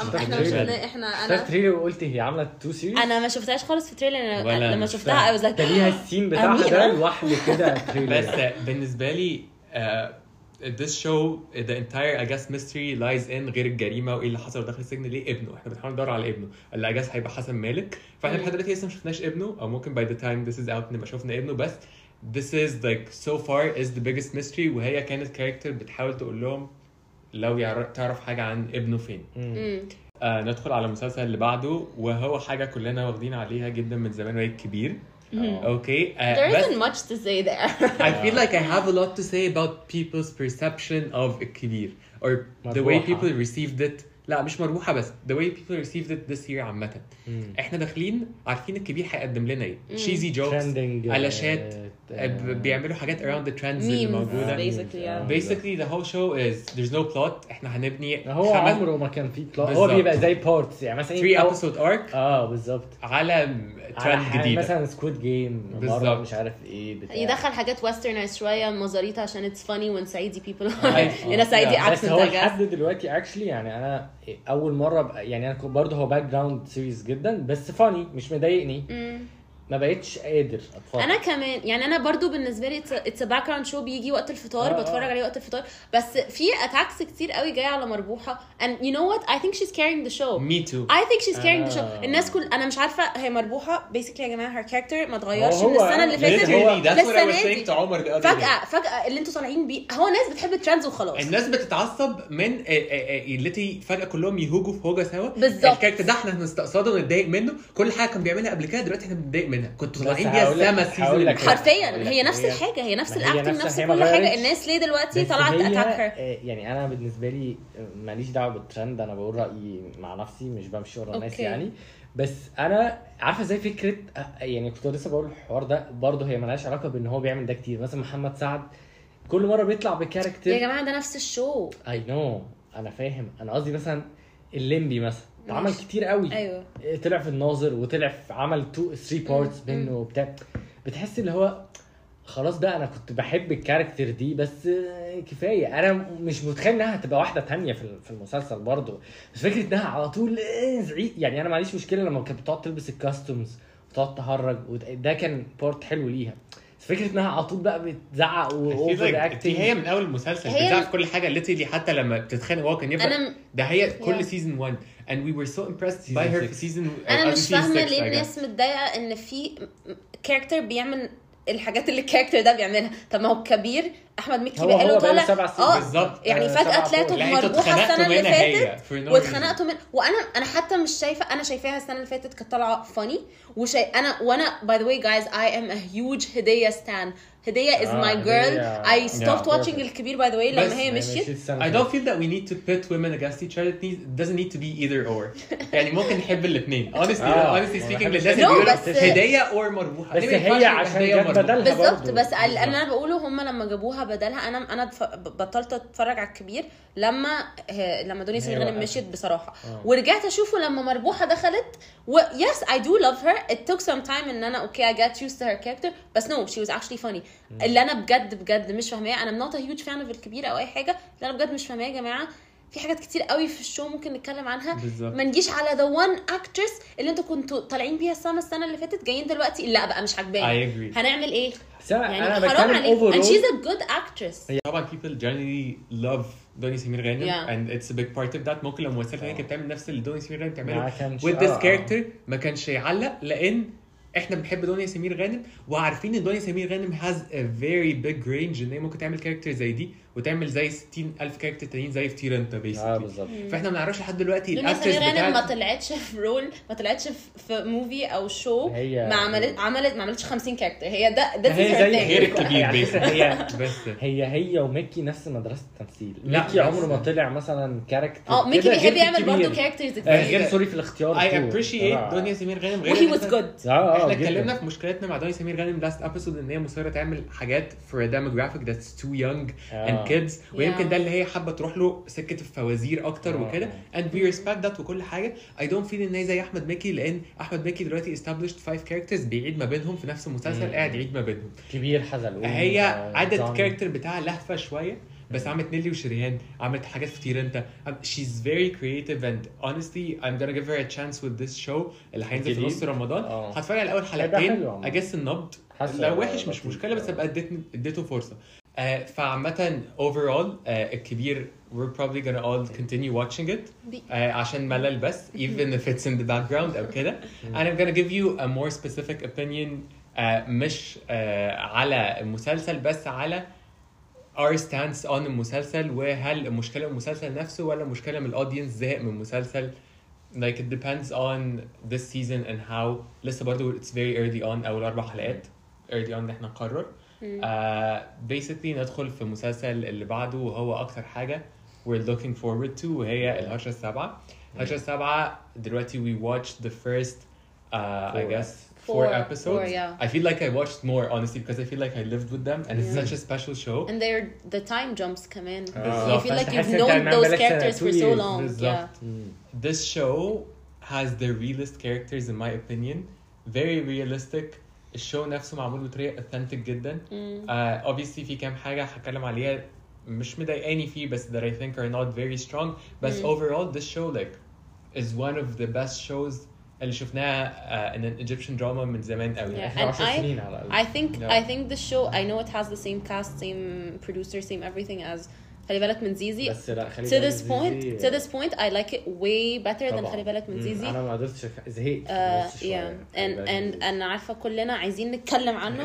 احنا شفت التريلر وقلت هي عامله 2 سيريز. انا ما شفتهاش خالص في التريلر. لما شفتها I was like ده ليها السين بتاعها ده لوحده كده تريلر. بس بالنسبه لي this show the entire I guess mystery lies in غير الجريمه وايه اللي حصل داخل السجن. ليه ابنه؟ احنا بنحاول ندور على ابنه اللي I guess هيبقى حسن مالك. فاحنا لحد دلوقتي لسه ما شفناش ابنه، او ممكن by the time this is out نبقى شفنا ابنه. بس this is like so far is the biggest mystery. وهي كانت كاركتر بتحاول تقول لهم لو تعرف حاجه عن ابنه فين. ندخل على المسلسل اللي بعده، وهو حاجه كلنا واخدين عليها جدا من زمان وهي الكبير. Okay. There isn't much to say there. I feel like I have a lot to say about people's perception of الكبير or the way people received it. لا مش مربوحة بس the way people received it this year عامة. احنا داخلين عارفين الكبير هيقدم لنا ايه. cheesy jokes علاشات بيعملوا حاجات around the trends اللي موجودة. basically the whole show is there's no plot. احنا هنبني هو عمره ما كان فيه plot. هو بيبقى زي parts يعني مثلا 3 episode arc بالظبط على trend جديدة مثلا سكويد جيم مرة مش عارف ايه بتاع. يدخل حاجات westernized شوية مزاريطة عشان it's funny when Saidi people are in a Saidi accent. بس هو لحد دلوقتي actually يعني انا اول مرة يعني انا برضه هو باك جراوند سيريز جدا بس فاني مش مضايقني. ما بقيتش قادر اتفرج. انا كمان يعني انا برضو بالنسبه لي اتس باك جراوند شو بيجي وقت الفطار بتفرج عليه وقت الفطار. بس في اتاكس كتير قوي جايه على مربوحه and you know what I think she's carrying the show. me too. I think she's carrying the show. الناس كل انا مش عارفه هي مربوحه basically يا جماعه her character ما اتغيرش من السنه اللي فاتت فجاه اللي انتوا طالعين بيه. هو الناس بتحب الترندز وخلاص. الناس بتتعصب من التي فجاه كلهم يهوجوا في هوجه سوا. الكاركتر ده احنا هنستقصده ونتضايق منه. كل حاجه كان بيعملها قبل كده دلوقتي احنا بنتضايق منها. كنتوا طالعين بيها السما السيزون حرفيا هي نفس الحاجه هي نفس الاكتنج نفس كل حاجه. الناس ليه دلوقتي طلعت اتاكر؟ يعني انا بالنسبه لي ماليش دعوه بالترند. انا بقول رايي مع نفسي مش بمشي ورا الناس يعني. بس انا عارفه زي فكره يعني كنت لسه بقول الحوار ده برضه هي مالهاش علاقه بان هو بيعمل ده كتير. مثلا محمد سعد كل مره بيطلع بكاركتر. يا جماعه ده نفس الشو. اي نو انا فاهم. انا قصدي مثلا الليمبي مثلا عمل كتير قوي. ايوه طلع في الناظر وطلع في عمل 2-3 بارتس منه وبتاع. بتحس اللي هو خلاص بقى انا كنت بحب الكاركتر دي بس كفايه. انا مش متخيل انها هتبقى واحده تانية في المسلسل برضه. بس فكره انها على طول زعيق يعني. انا معليش مشكله لما كانت بتقعد تلبس الكاستمز وتقعد تهرج ده كان بارت حلو ليها. فكره انها على طول بقى بتزعق واوفر اكتنج. هي من اول المسلسل بتعرف كل حاجه اللي حتى لما بتتخانق هو كان يبقى ده هي كل سيزون 1 and we were so impressed by her في سيزون. انا مش فاهمه ليه الناس متضايقه ان في كاركتر بيعمل الحاجات اللي الكاركتر ده بيعملها. طب ما هو كبير احمد مكي بقاله طالع بالظبط يعني فجاه طلعتوا مربوحه السنه اللي فاتت واتخانقتوا من وانا حتى مش شايفه. انا شايفاها السنه اللي فاتت كانت طالعه فاني وانا by the way guys I am a huge هدية stan. هدية is my girl. I stopped watching الكبير by the way لما هي مشيت. I don't feel that we need to pit women against each other. It doesn't need to be either or. يعني ممكن نحب الاثنين. honestly speaking للناس اللي بيقولوا هدية or مربوحة. بس هي عشان جت بدلها بالظبط. بس اللي انا بقوله هم لما جابوها بدلها انا بطلت اتفرج على الكبير لما دنيا سمير غانم مشيت بصراحه. ورجعت اشوفه لما مربوحه دخلت yes I do love her. It took some time ان انا okay I got used to her character بس no she was actually funny. اللي انا بجد مش فاهماه. انا not a huge fan of الكبير او اي حاجه. اللي انا بجد مش فاهماه يا جماعه في حاجات كتير قوي في الشو ممكن نتكلم عنها. ما نجيش على the one actress اللي انتوا كنتوا طالعين بيها السنه اللي فاتت جايين دلوقتي لا بقى مش عاجباني. هنعمل ايه يعني؟ حرام عليك. and she's a good actress. طبعا people generally love دنيا سمير غانم and it's a big part of that. ممكن لو ممثله ثانيه كانت بتعمل نفس اللي دنيا سمير غانم بتعمله with this character ما كانش يعلق لان احنا بنحب دنيا سمير غانم وعارفين ان دنيا سمير غانم has a very big range ان هي ممكن تعمل كاركتر زي دي وتعمل زي 60,000 كاركتر تانيين زي في طير انت بالظبط. فاحنا ما نعرفش لحد دلوقتي الاكترس بتاعت ما طلعتش في رول ما طلعتش في موفي او شو ما عملتش 50 كاركتر. هي ده غير الكبير هي وميكي نفس مدرسه التمثيل. ميكي عمره ما طلع مثلا كاركتر ميكي بيحب يعمل برضه كاركترز كتير غير سوري في الاختيار. I appreciate دنيا سمير غانم غير he was good. احنا اتكلمنا في مشكلتنا مع دنيا سمير غانم last episode ان هي مصره تعمل حاجات for a demographic that's too young and kids ويمكن ده اللي هي حابه تروح له سكه الفوازير اكتر وكده and we respect that وكل حاجه. I don't feel ان هي زي احمد مكي لان احمد مكي دلوقتي established 5 characters بيعيد ما بينهم في نفس المسلسل قاعد يعيد ما بينهم. كبير حزلقوم هي عدد الكاركتر بتاعها لهفه شويه بس عملت نيلي وشريهان عملت حاجات كتير انت she's very creative and honestly I'm gonna give her a chance with this show اللي هينزل في نص رمضان. هتفرج على اول حلقتين اجس النبض لو وحش مش مشكله بس ابقى اديته فرصه. فعامة overall الكبير we're probably gonna all continue watching it عشان ملل بس even if it's in the background أو كده. and I'm gonna give you a more specific opinion مش على المسلسل بس على our stance on المسلسل وهل المشكلة من المسلسل نفسه ولا مشكلة من الأودينس زهق من المسلسل. like it depends on this season and how لسه برضو it's very early on أول 4 حلقات early on إحنا نقرر. basically ندخل في المسلسل اللي بعده وهو أكتر حاجة we're looking forward to وهي الهجرة السابعة. الهجرة السابعة دلوقتي we watched the first I guess 4 episodes. I feel like I watched more honestly because I feel like I lived with them and it's such a special show. And they're the time jumps كمان. You feel like you've known those characters for so long. This show has the realest characters in my opinion. Very realistic. الشو نفسه معمول بطريقه authentic جدا. Obviously في كام حاجه هتكلم عليها مش مضايقاني فيه بس that I think are not very strong. But overall this show like is one of the best shows اللي شفناها in an Egyptian drama من زمان قوي. And I think the show I know it has the same cast, same producer, same everything as خلي بالك من زيزي. بس لا خلي بالك to this point I like it way better than خلي بالك من زيزي. انا ما قدرتش زهقت. and انا عارفه كلنا عايزين نتكلم عنه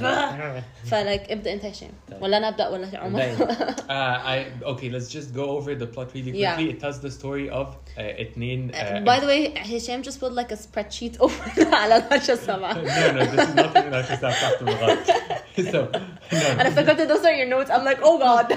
فلايك ابدا انت هشام ولا انا ابدا ولا عمر؟ Okay, let's just go over the plot really quickly. It tells the story of اتنين by the way هشام just put like a spreadsheet over على الهجرة السابعة. No, this is not الهجرة السابعة تحت الغلط. So أنا افتكرت those are your notes. I'm like oh god.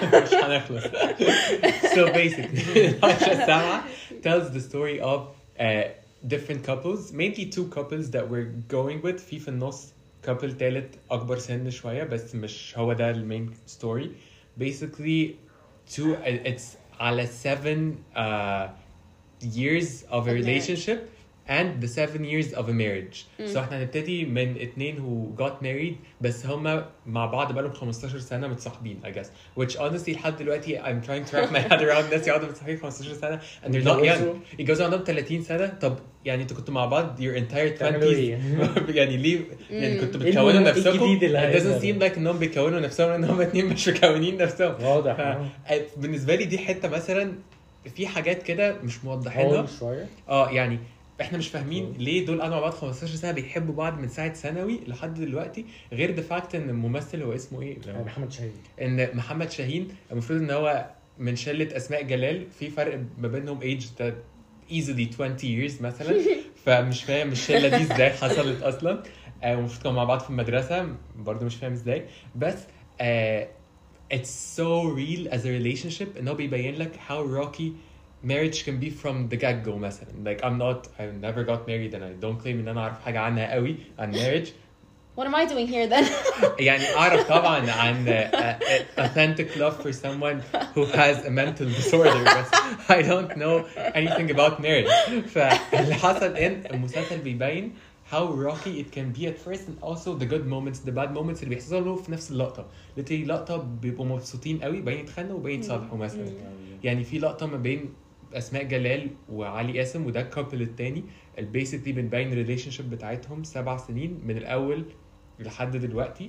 So basically الهجرة السابعة tells the story of different couples, mainly 2 couples that we're going with. في النص couple تالت أكبر سن شوية بس مش هو ده المين story. Basically it's على 7 years of a relationship and the 7 years of a marriage. So احنا هنبتدي من اتنين who got married بس هما مع بعض بقالهم 15 سنة متصاحبين I guess. Which honestly لحد دلوقتي I'm trying to wrap my head around this يقعدوا متصاحبين 15 سنة and they're not young. يتجوزوا عندهم 30 سنة. طب يعني انتوا كنتوا مع بعض your entire 20s يعني ليه يعني كنتوا بتكونوا نفسكم. It doesn't seem like انهم بيكونوا نفسهم ان هم اتنين مش مكونين نفسهم. واضح. بالنسبة لي دي حتة مثلا في حاجات كده مش موضحينها شوية. يعني احنا مش فاهمين ليه دول قعدوا مع بعض 15 سنه بيحبوا بعض من ساعه ثانوي لحد دلوقتي غير ذا فاكت ان الممثل هو اسمه ايه محمد شاهين. ان محمد شاهين المفروض ان هو من شله اسماء جلال في فرق ما بينهم ايج easily 20 years مثلا فمش فاهم الشله دي ازاي حصلت اصلا المفروض كانوا مع بعض في المدرسه برضو مش فاهم ازاي بس it's so real as a relationship انه بيبين لك how rocky marriage can be from the get-go مثلا. Like I never got married and I don't claim ان انا اعرف حاجة عنها قوي عن marriage. What am I doing here then? يعني اعرف طبعا عن authentic love for someone who has a mental disorder but I don't know anything about marriage. فاللي حصل ان المسلسل بيبين how rocky it can be at first and also the good moments the bad moments اللي بيحصلوا في نفس اللقطة. literally لقطة بيبقوا مبسوطين قوي باين يتخانقوا وباين يتصالحوا مثلا. يعني في لقطة ما بين اسماء جلال وعلي قاسم وده الكابل التاني البيسيكلي بنبين الريليشن شيب بتاعتهم 7 سنين من الاول لحد دلوقتي.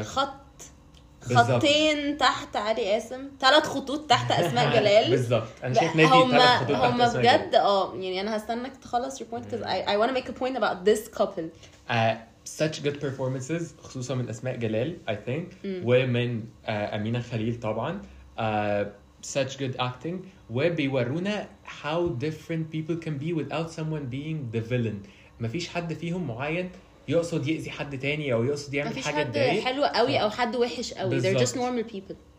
خطين تحت علي قاسم 3 خطوط تحت اسماء جلال بالظبط. انا شايف نادي 3 خطوط تحت هم بجد يعني انا هستناك تخلص your point because I want to make a point about this couple. such good performances خصوصا من اسماء جلال I think ومن أمينة خليل طبعا. such good acting وبيورونا how different people can be without someone being the villain. مفيش حد فيهم معين يقصد يأذي حد تاني او يقصد يعمل حاجه تضايق. مفيش حد حلو قوي او حد وحش قوي. they're just normal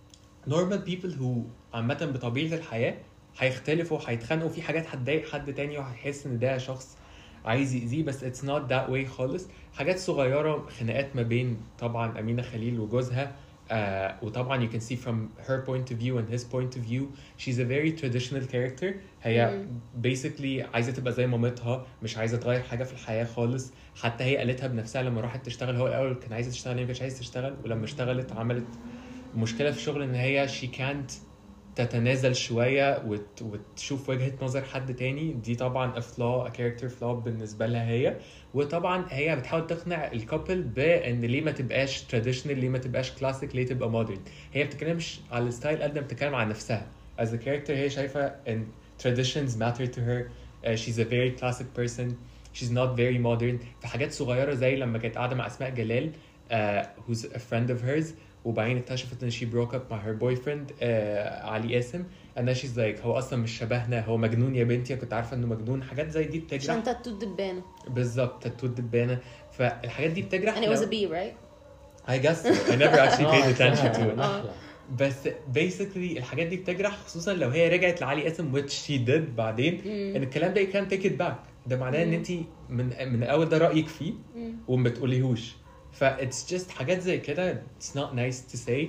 people who عامه بطبيعه الحياه هيختلفوا هيتخانقوا في حاجات هتضايق حد تاني وهيحس ان ده شخص عايز يأذيه بس it's not that way خالص. حاجات صغيره خناقات ما بين طبعا أمينة خليل وجوزها وطبعا you can see from her point of view and his point of view she's a very traditional character. هي basically عايزة تبقى زي مامتها مش عايزة تغير حاجة في الحياة خالص. حتى هي قالتها بنفسها لما راحت تشتغل. هو الأول كان عايزة تشتغل هي مش عايزة تشتغل ولما اشتغلت عملت مشكلة في الشغل ان هي she can't تتنازل شوية وتشوف وجهة نظر حد تاني. دي طبعا a character flaw بالنسبة لها هي. وطبعا هي بتحاول تقنع الكابل بان ليه ما تبقاش traditional ليه ما تبقاش classic ليه تبقى modern. هي بتتكلمش على الستايل قد ما بتتكلم عن نفسها as a character. هي شايفة ان traditions matter to her. She's a very classic person. She's not very modern. في حاجات صغيرة زي لما كانت قاعدة مع أسماء جلال who's a friend of hers وبعدين اكتشفت ان she broke up مع her boyfriend علي قاسم and then she's like هو اصلا مش شبهنا هو مجنون يا بنتي كنت عارفه انه مجنون. حاجات زي دي بتجرح عشان تاتو الدبانه بالظبط تاتو الدبانه. فالحاجات دي بتجرح. and it was a bee right I guess I never actually paid attention to it بس basically الحاجات دي بتجرح خصوصا لو هي رجعت لعلي قاسم which she did بعدين ان الكلام ده you can't take it back. ده معناه ان انت من الاول ده رايك فيه وما بتقوليهوش. it's just حاجات زي كده it's not nice to say.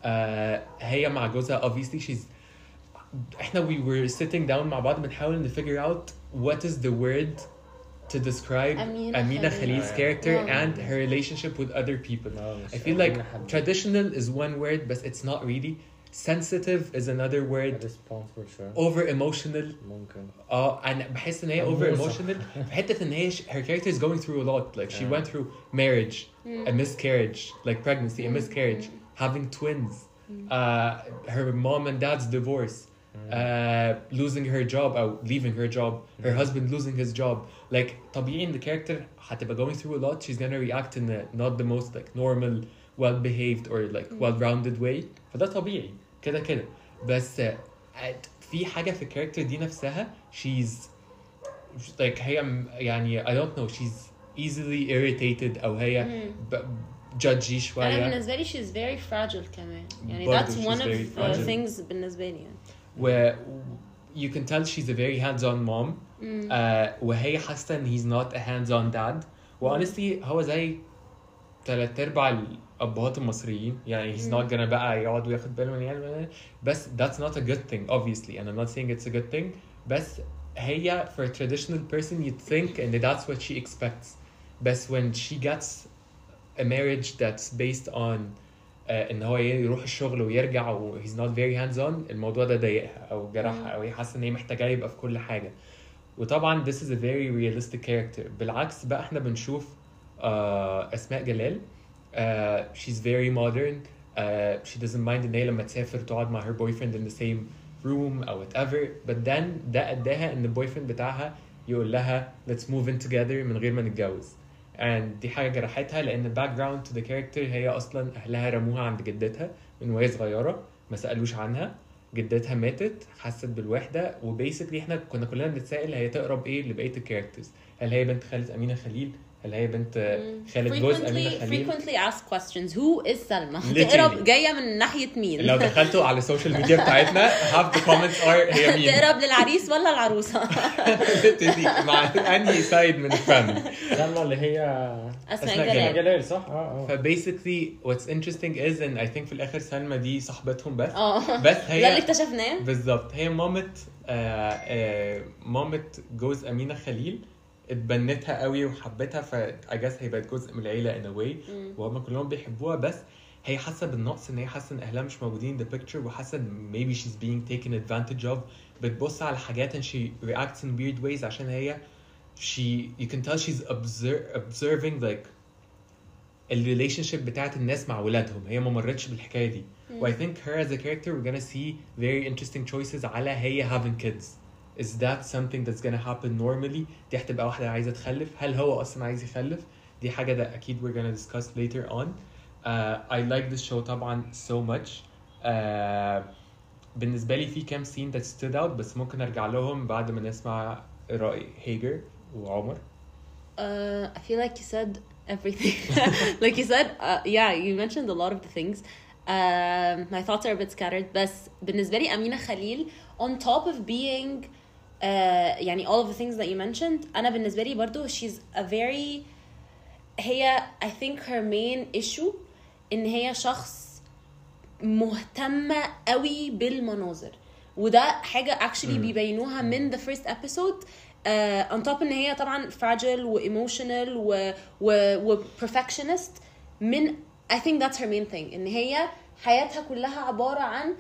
هي مع جوزها obviously احنا we were sitting down مع بعض بنحاول ن figure out what is the word to describe Amina Khalil's character and her relationship with other people. I feel like traditional is one word but it's not really. Sensitive is another word. Over emotional ممكن. أنا بحس إن هي over emotional. في حتة إن هي her character is going through a lot. Like she went through marriage, a miscarriage, like pregnancy, a miscarriage, having twins, her mom and dad's divorce, losing her job or leaving her job, her husband losing his job. Like طبيعي إن the character هتبقى going through a lot. She's gonna react in not the most like normal, well-behaved or like well-rounded way. فده طبيعي كده بس في حاجة في الكاركتر دي نفسها she's like هي يعني I don't know she's easily irritated أو هي judgy شوية. أنا بالنسبة لي she's very fragile كمان يعني that's one of the things بالنسبة لي يعني. You can tell she's a very hands-on mom وهي حاسة إن he's not a hands-on dad. honestly هو زي 3/4 الأبهات المصريين يعني he's not gonna بقى يقعد وياخد باله من يعني بس that's not a good thing obviously and I'm not saying it's a good thing بس هي for a traditional person you'd think and that's what she expects. But when she gets a marriage that's based on ان هو يروح الشغل ويرجع و he's not very hands on, الموضوع ده ضايقها او جرحها او هي حاسه ان هي محتاجه يبقى في كل حاجه. وطبعا this is a very realistic character. بالعكس بقى احنا بنشوف اسماء جلال she's very modern. She doesn't mind ان هي لما تسافر تقعد مع her boyfriend in the same room or whatever, but then ده اداها ان البويفريند بتاعها يقول لها let's move in together من غير ما نتجوز. and دي حاجه جرحتها لان back ground to the character هي اصلا اهلها رموها عند جدتها من وهي صغيره, ما سالوش عنها. جدتها ماتت, حست بالوحده, وبيسكلي احنا كنا كلنا بنتسائل هي تقرب ايه لبقيه الكاركترز. هل هي بنت خالد امينه خليل؟ هل هي بنت خالد جوز امينه خليل؟ frequently asked questions. who is سلمى؟ تقرب جايه من ناحيه مين؟ لو دخلتوا على السوشيال ميديا بتاعتنا half the comments are هي مين؟ تقرب للعريس ولا العروسه؟ مع انهي سايد من الفاميلي؟ سلمى اللي هي اسماء جلال صح؟ فبيسكلي what's interesting is ان I think في الاخر سلمى دي صاحبتهم بس هي ده اللي اكتشفناه بالظبط. هي مامة جوز امينه خليل, اتبنتها قوي وحبتها, ف I guess هي بقت جزء من العيله in a way, وهم كلهم بيحبوها. بس هي حاسه بالنقص ان هي حاسه ان اهلها مش موجودين in the picture, وحاسه ان maybe she's being taken advantage of. بتبص على حاجات and she reacts in weird ways عشان هي you can tell she's observing like الريليشنشيب بتاعت الناس مع ولادهم. هي ما مرتش بالحكايه دي. و I think her as a character we're gonna see very interesting choices على هي having kids. Is that something that's gonna happen normally? دي هتبقى واحدة عايزة تخلف. هل هو أصلا عايز يخلف؟ دي حاجة ده أكيد we're gonna discuss later on. I like this show طبعا so much. بالنسبة لي في كام scene that stood out, بس ممكن أرجع لهم بعد ما نسمع رأي هيجر وعمر. I feel like you said everything. Like you said, yeah, you mentioned a lot of the things. My thoughts are a bit scattered. بس بالنسبة لي أمينة خليل on top of being يعني all of the things that you mentioned, أنا بالنسبة لي برضو she's a very هي I think her main issue إن هي شخص مهتمة قوي بالمناظر, وده حاجة actually بيبينوها من the first episode. on top إن هي طبعا fragile و emotional و perfectionist. من I think that's her main thing إن هي حياتها كلها عبارة عن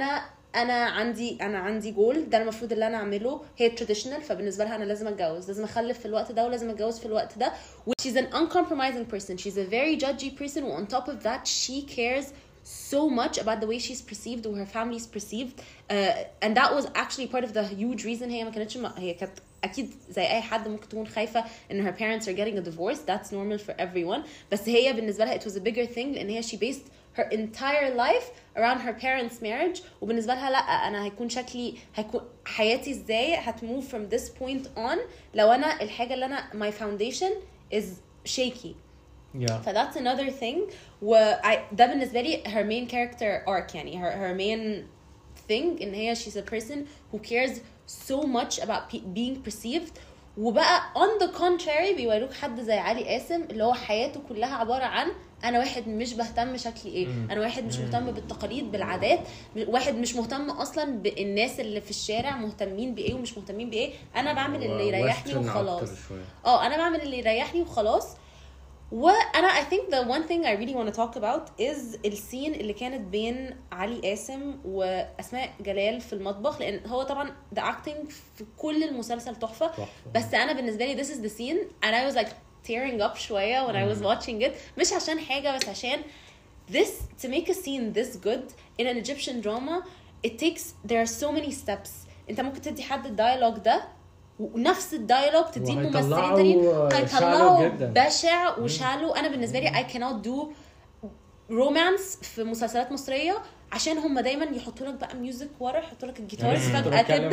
أنا عندي جول, ده المفروض اللي أنا أعمله. هي traditional, فبالنسبة لها أنا لازم أتجوز, لازم أخلف في الوقت ده, ولازم أتجوز في الوقت ده. She's an uncompromising person. She's a very judgy person. And on top of that, she cares so much about the way she's perceived or her family's perceived. And that was actually part of the huge reason هي كانت أكيد زي أي حد ممكن تكون خايفة إن her parents are getting a divorce. That's normal for everyone. بس هي بالنسبة لها it was a bigger thing لأن هي she based her entire life around her parents' marriage. وبالنسبة لها لا, أنا هيكون حياتي إزاي هتmove from this point on لو أنا الحاجة اللي أنا my foundation is shaky. Yeah. So that's another thing. ده بالنسبة لي her main character arc, يعني her main thing إن هي she's a person who cares so much about being perceived. وبقى on the contrary بيوروك حد زي علي قاسم اللي هو حياته كلها عبارة عن أنا واحد مش بهتم شكلي إيه, أنا واحد مش مهتم بالتقاليد بالعادات, واحد مش مهتم أصلا بالناس اللي في الشارع مهتمين بإيه ومش مهتمين بإيه. أنا بعمل اللي يريحني وخلاص. أنا بعمل اللي يريحني وخلاص. وأنا I think the one thing I really want to talk about is السين اللي كانت بين علي قاسم وأسماء جلال في المطبخ, لأن هو طبعا the acting في كل المسلسل تحفة. بس أنا بالنسبة لي this is the scene and I was like tearing up شوية when I was watching it, مش عشان حاجة بس عشان to make a scene this good in an Egyptian drama there are so many steps. أنت ممكن تدي حد الديالوج ده ونفس الديالوج تديه ممثلين تانيين هيطلعوا بشع وشالو. انا بالنسبه لي I cannot do romance في مسلسلات مصريه عشان هم دايما يحطوا لك بقى ميوزك ورا, يحطوا لك الجيتار فجاه كده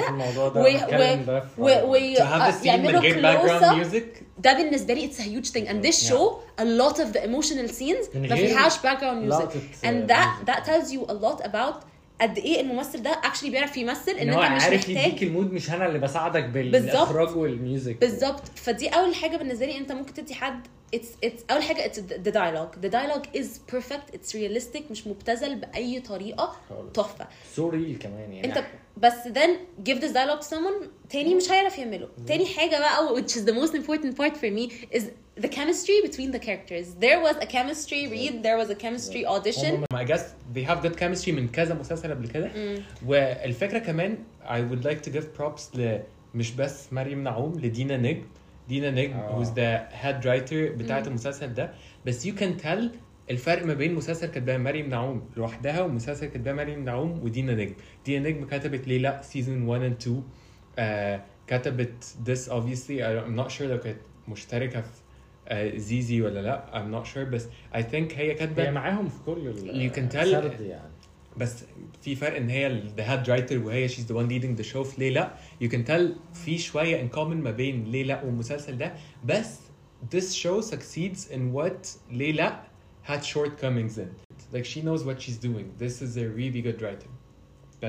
ويعملوا كلوز. ده بالنسبه لي it's a huge thing and this show a lot of the emotional scenes ما فيهاش background music and that tells you a lot about قد ايه الممثل ده اكشلي بيعرف يمثل ان هو انت مش عارف محتاج يديك المود، مش انا اللي بساعدك بالاخراج والميوزك. بالظبط. فدي اول حاجه بالنسبه لي انت ممكن تدي حد it's اول حاجه it's the dialogue is perfect, it's realistic, مش مبتذل باي طريقه، تحفه. سوري كمان يعني انت بس then give this dialogue to someone تاني مش هيعرف يعمله. تاني حاجه بقى which is the most important part for me is the chemistry between the characters. There was a chemistry read, there was a chemistry audition. I guess they have good chemistry من كذا مسلسل قبل كده. والفكرة كمان I would like to give props مش بس مريم نعوم، لدينا نجم. دينا نجم who's the head writer بتاعت المسلسل ده. بس you can tell الفرق ما بين مسلسل كتبها مريم نعوم لوحدها ومسلسل كتبها مريم نعوم ودينا نجم. دينا نجم كتبت ليلى season 1 and 2. كتبت this obviously I'm not sure لو كانت مشتركة في زيزي ولا لا I'm not sure، بس I think هي كاتبة هي معاهم في كل you can tell يعني. بس في فرق ان هي the head writer وهي she's the one leading the show في ليلى. you can tell في شوية in common ما بين ليلى والمسلسل ده. بس this show succeeds in what ليلى had shortcomings in. like she knows what she's doing. this is a really good writer. بس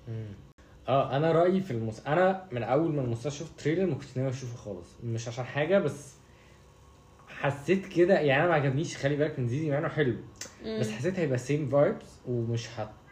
انا رايي في انا من اول ما المسلسل شفت تريلر ما كنتش ناوي اشوفه خالص، مش عشان حاجه بس حسيت كده يعني. انا ما عجبنيش، خلي بالك من زيزي مع انه حلو، بس حسيت هيبقى سيم فايبس ومش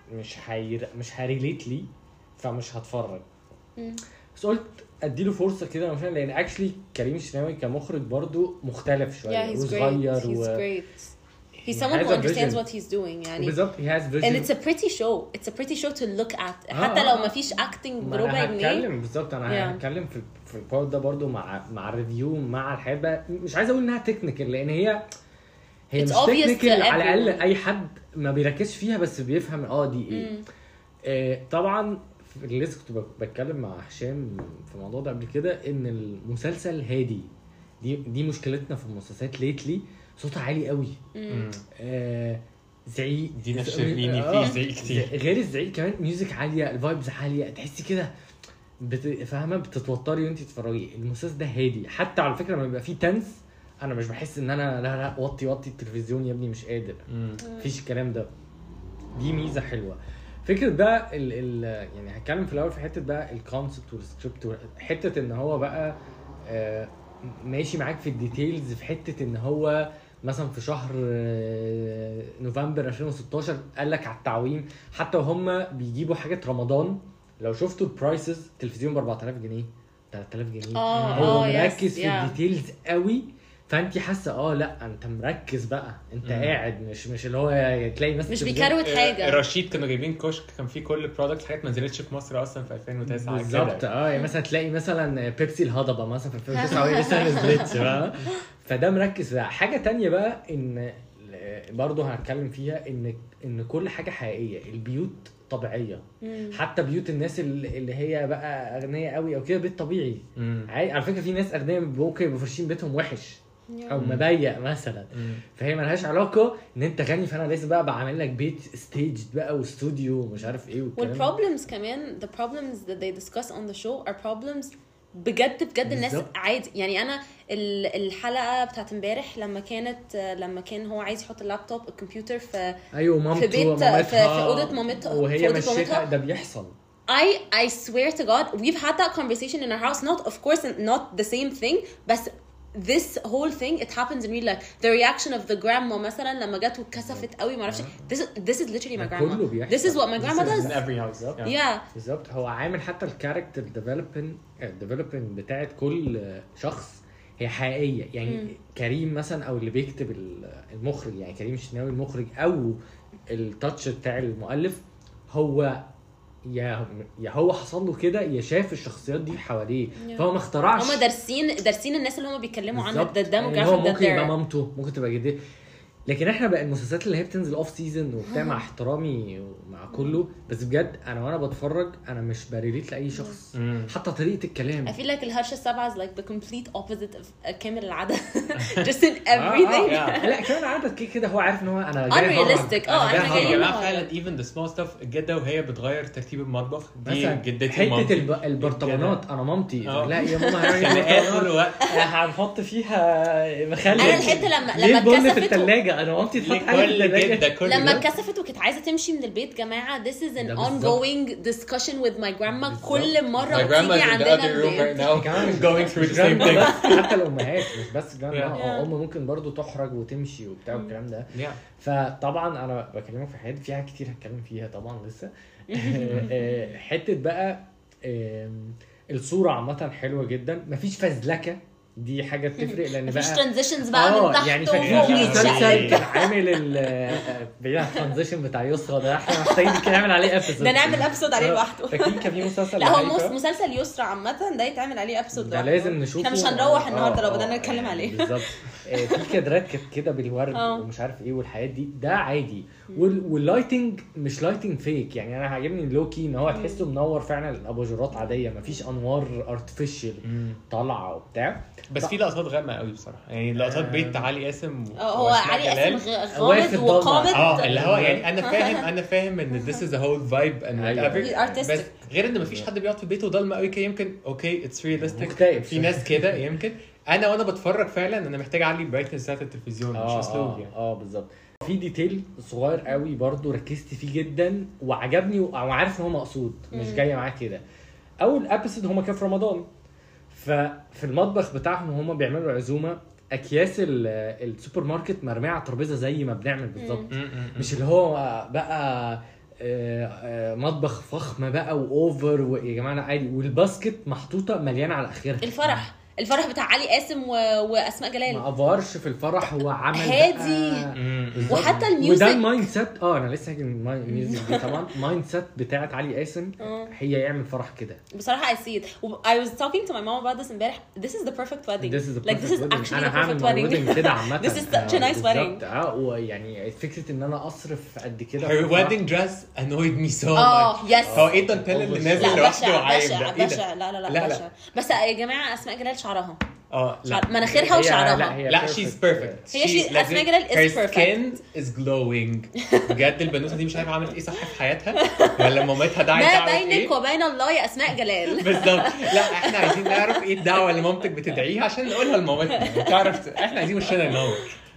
مش هريليت لي، فمش هتفرج. بس قلت اديله فرصه كده مثلا، لان اكشلي كريم الشناوي كمخرج برضو مختلف شويه وصغير He's someone who understands what he's doing يعني. بالظبط he has vision. And it's a pretty show. It's a pretty show to look at. حتى لو ما فيش acting بربع جنيه. هتكلم بالظبط. انا هتكلم في البارت ده برضو مع الريفيو مع الحاجه. مش عايز اقول انها تكنيكال، لان هي مش تكنيكال على الاقل اي حد ما بيركزش فيها بس بيفهم دي ايه. طبعا اللي لسه كنت بتكلم مع هشام في الموضوع ده قبل كده، ان المسلسل هادي. دي مشكلتنا في المسلسلات ليتلي، صوتها عالي قوي. زعيق دينا الشربيني فيه زعيق كتير. غير الزعيق كمان ميوزك عاليه، الفايبز عاليه، تحسي كده فاهمه بتتوتري وانت تتفرجي. المسلسل ده هادي، حتى على فكره لما بيبقى فيه تنس انا مش بحس ان انا لا وطي التلفزيون يا ابني مش قادر. مفيش الكلام ده. دي ميزه حلوه. فكره بقى يعني هتكلم في الاول في حته بقى الكونسبت والسكريبت، حته ان هو بقى ماشي معاك في الديتيلز، في حته ان هو مثلا في شهر نوفمبر 2016 قال لك على التعويم. حتى وهم بيجيبوا حاجه رمضان، لو شفتوا البرايسز تلفزيون ب 4000 جنيه 3000 جنيه. هو مركز في الديتيلز قوي، فانت حاسه لا انت مركز بقى، انت قاعد مش اللي هو تلاقي مثلا مش بيكروت حاجه. الرشيد كانوا جايبين كشك كان فيه كل برودكت حاجات ما نزلتش في مصر اصلا في 2009 بالظبط. يعني مثلا تلاقي مثلا بيبسي الهضبه مثلا في 2009 وهي لسه ما نزلتش بقى. فده مركز بقى. حاجه تانية بقى ان برضه هنتكلم فيها ان كل حاجه حقيقيه. البيوت طبيعيه، حتى بيوت الناس اللي هي بقى اغنياء قوي او كده بيت طبيعي. على فكره في ناس اغنياء ممكن يبقوا فرشين بيتهم وحش او مضيق مثلا. فهي ملهاش علاقه ان انت غني فانا لازم بقى بعمل لك بيت ستيج بقى واستوديو ومش عارف ايه والكلام. والبروبلمز كمان the problems that they discuss on the show are problems بجد الناس عادي يعني. انا الحلقه بتاعت امبارح لما كان هو عايز يحط اللابتوب الكمبيوتر في مامته في بيت في اوضه مامتها وهي مشيتها. ده بيحصل. I swear to God we've had that conversation in our house, not of course not the same thing, but this whole thing it happens in real life. The reaction of the grandma مثلا لما جت واتكسفت قوي ما اعرفش. This is literally my grandma. This is what my grandma does in every house. Yeah بالظبط. هو عامل حتى الكاركتر developing بتاعت كل شخص هي حقيقيه يعني. كريم مثلا او اللي بيكتب المخرج يعني كريم الشناوي المخرج او التاتش بتاع المؤلف، هو يا هو حصل له كده يا شاف الشخصيات دي حواليه فهو ما اخترعش. هم دارسين الناس اللي هم بيتكلموا عنها. ده يعني هو ممكن يبقى مامته، ممكن تبقى جدته. لكن احنا بقى المسلسلات اللي هي بتنزل اوف سيزون وبتاع، مع احترامي ومع كله، بس بجد وانا بتفرج انا مش بريليت لاي شخص. حتى طريقه الكلام I feel like الهرشه السابعه is like the complete opposite of كامل العدد just in everything. لا كمان العدد كده هو عارف ان هو انا جاي unrealistic. احنا جايين فعلا even the small stuff. الجده وهي بتغير ترتيب المطبخ دي جدتي حته البرطمانات. انا مامتي لا يا ماما هنحط فيها مخلل. انا الحته لما اتكسفت حاجه انا مامتي تحط حاجه في كل الثلاجة. كده كل لما ده. اتكسفت وكانت عايزه تمشي من البيت جماعه this is an ده بالظبط. ongoing discussion with my grandma بالظبط. كل مره My grandma بتيجي is in the عندنا other room right البيت. now كمان مش going through the same جراند thing. بس، حتى الامهات مش بس جراند Yeah. ام ممكن برضو تحرج وتمشي وبتاع والكلام ده. Yeah. فطبعا انا بكلمك في حاجات فيها كتير هتكلم فيها طبعا لسه. حته بقى الصوره عامه حلوه جدا، مفيش فزلكه، دي حاجه بتفرق لان مفيش بقى ترانزيشنز بقى من تحت يعني وفوق فاكرين في مسلسل ويتشقلب. كان عامل بعيد الترانزيشن بتاع يسرا ده، احنا محتاجين كده نعمل عليه ابيسود، ده نعمل ابسود عليه لوحده. فاكرين كان في مسلسل لا هو لهيفا؟ مسلسل يسرا عامه ده يتعمل عليه ابسود ده لازم نشوفه. احنا مش هنروح النهارده لو بدنا نتكلم عليه. بالظبط. في كادرات كانت كده بالورد ومش عارف ايه والحاجات دي، ده عادي. واللايتنج مش لايتنج فيك، يعني انا عاجبني اللوكي ان هو تحسه منور فعلا، الاباجورات عاديه مفيش انوار ارتفيشال طالعه وبتاع. بس في لقطات غامقه قوي بصراحه، يعني لقطات بيت علي قاسم هو وأسماء علي جلال. قاسم واقف غامض وقامض. اللي هو يعني انا فاهم ان this is a whole vibe and أيوة. whatever، بس غير ان مفيش حد بيقعد في بيته ضلمه قوي كده، يمكن اوكي اتس رياليستيك، مختلف. في ناس كده يمكن. وانا بتفرج فعلا انا محتاج اعلي البرايتنس بتاعت التلفزيون مش اسلوب يعني. بالظبط. في ديتيل صغير قوي برضو ركزت فيه جدا وعجبني وعارف ان هو مقصود، مش جايه معاه كده. اول ابيسود هما كانوا في رمضان، ففي المطبخ بتاعهم وهم بيعملوا عزومه اكياس السوبر ماركت مرميه على الترابيزه زي ما بنعمل بالظبط، مش اللي هو بقى مطبخ فخم بقى واوفر ويا جماعه عادي، والباسكت محطوطه مليانه على اخرها. الفرح بتاع علي قاسم واسماء جلال ما افورش في الفرح، هو عمل هادي. بالظبط. وحتى الميوزك، وده المايند سيت. انا لسه هاجي الميوزك دي طبعا مايند سيت بتاعت علي قاسم، هي يعمل فرح كده بصراحه I see it. I was talking to my mom about this امبارح. This is the perfect wedding. This is the like this is perfect wedding. actually أنا the هعمل perfect my wedding. wedding كده عامة. This is such a nice wedding. ويعني فكرة ان انا اصرف قد كده Her wedding dress annoyed me so much. yes. هو ايه الدانتيل اللي نازل لا لوحده بشع وعايم ده؟ ايه بشع ده؟ لا لا. بشع. بس يا جماعه اسماء جلال شعرها لا مناخيرها وشعرها. لا she's perfect. هي اسماء جلال is her perfect. skin is glowing. بجد البنوته دي مش عارفه عملت ايه صح في حياتها، ولا مامتها دعت ما دعوه بينك ايه وبين الله يا اسماء جلال. بالظبط. لا احنا عايزين نعرف ايه الدعوه اللي مامتك بتدعيها عشان نقولها لمامتنا تعرف. احنا عايزين وشنا ينور.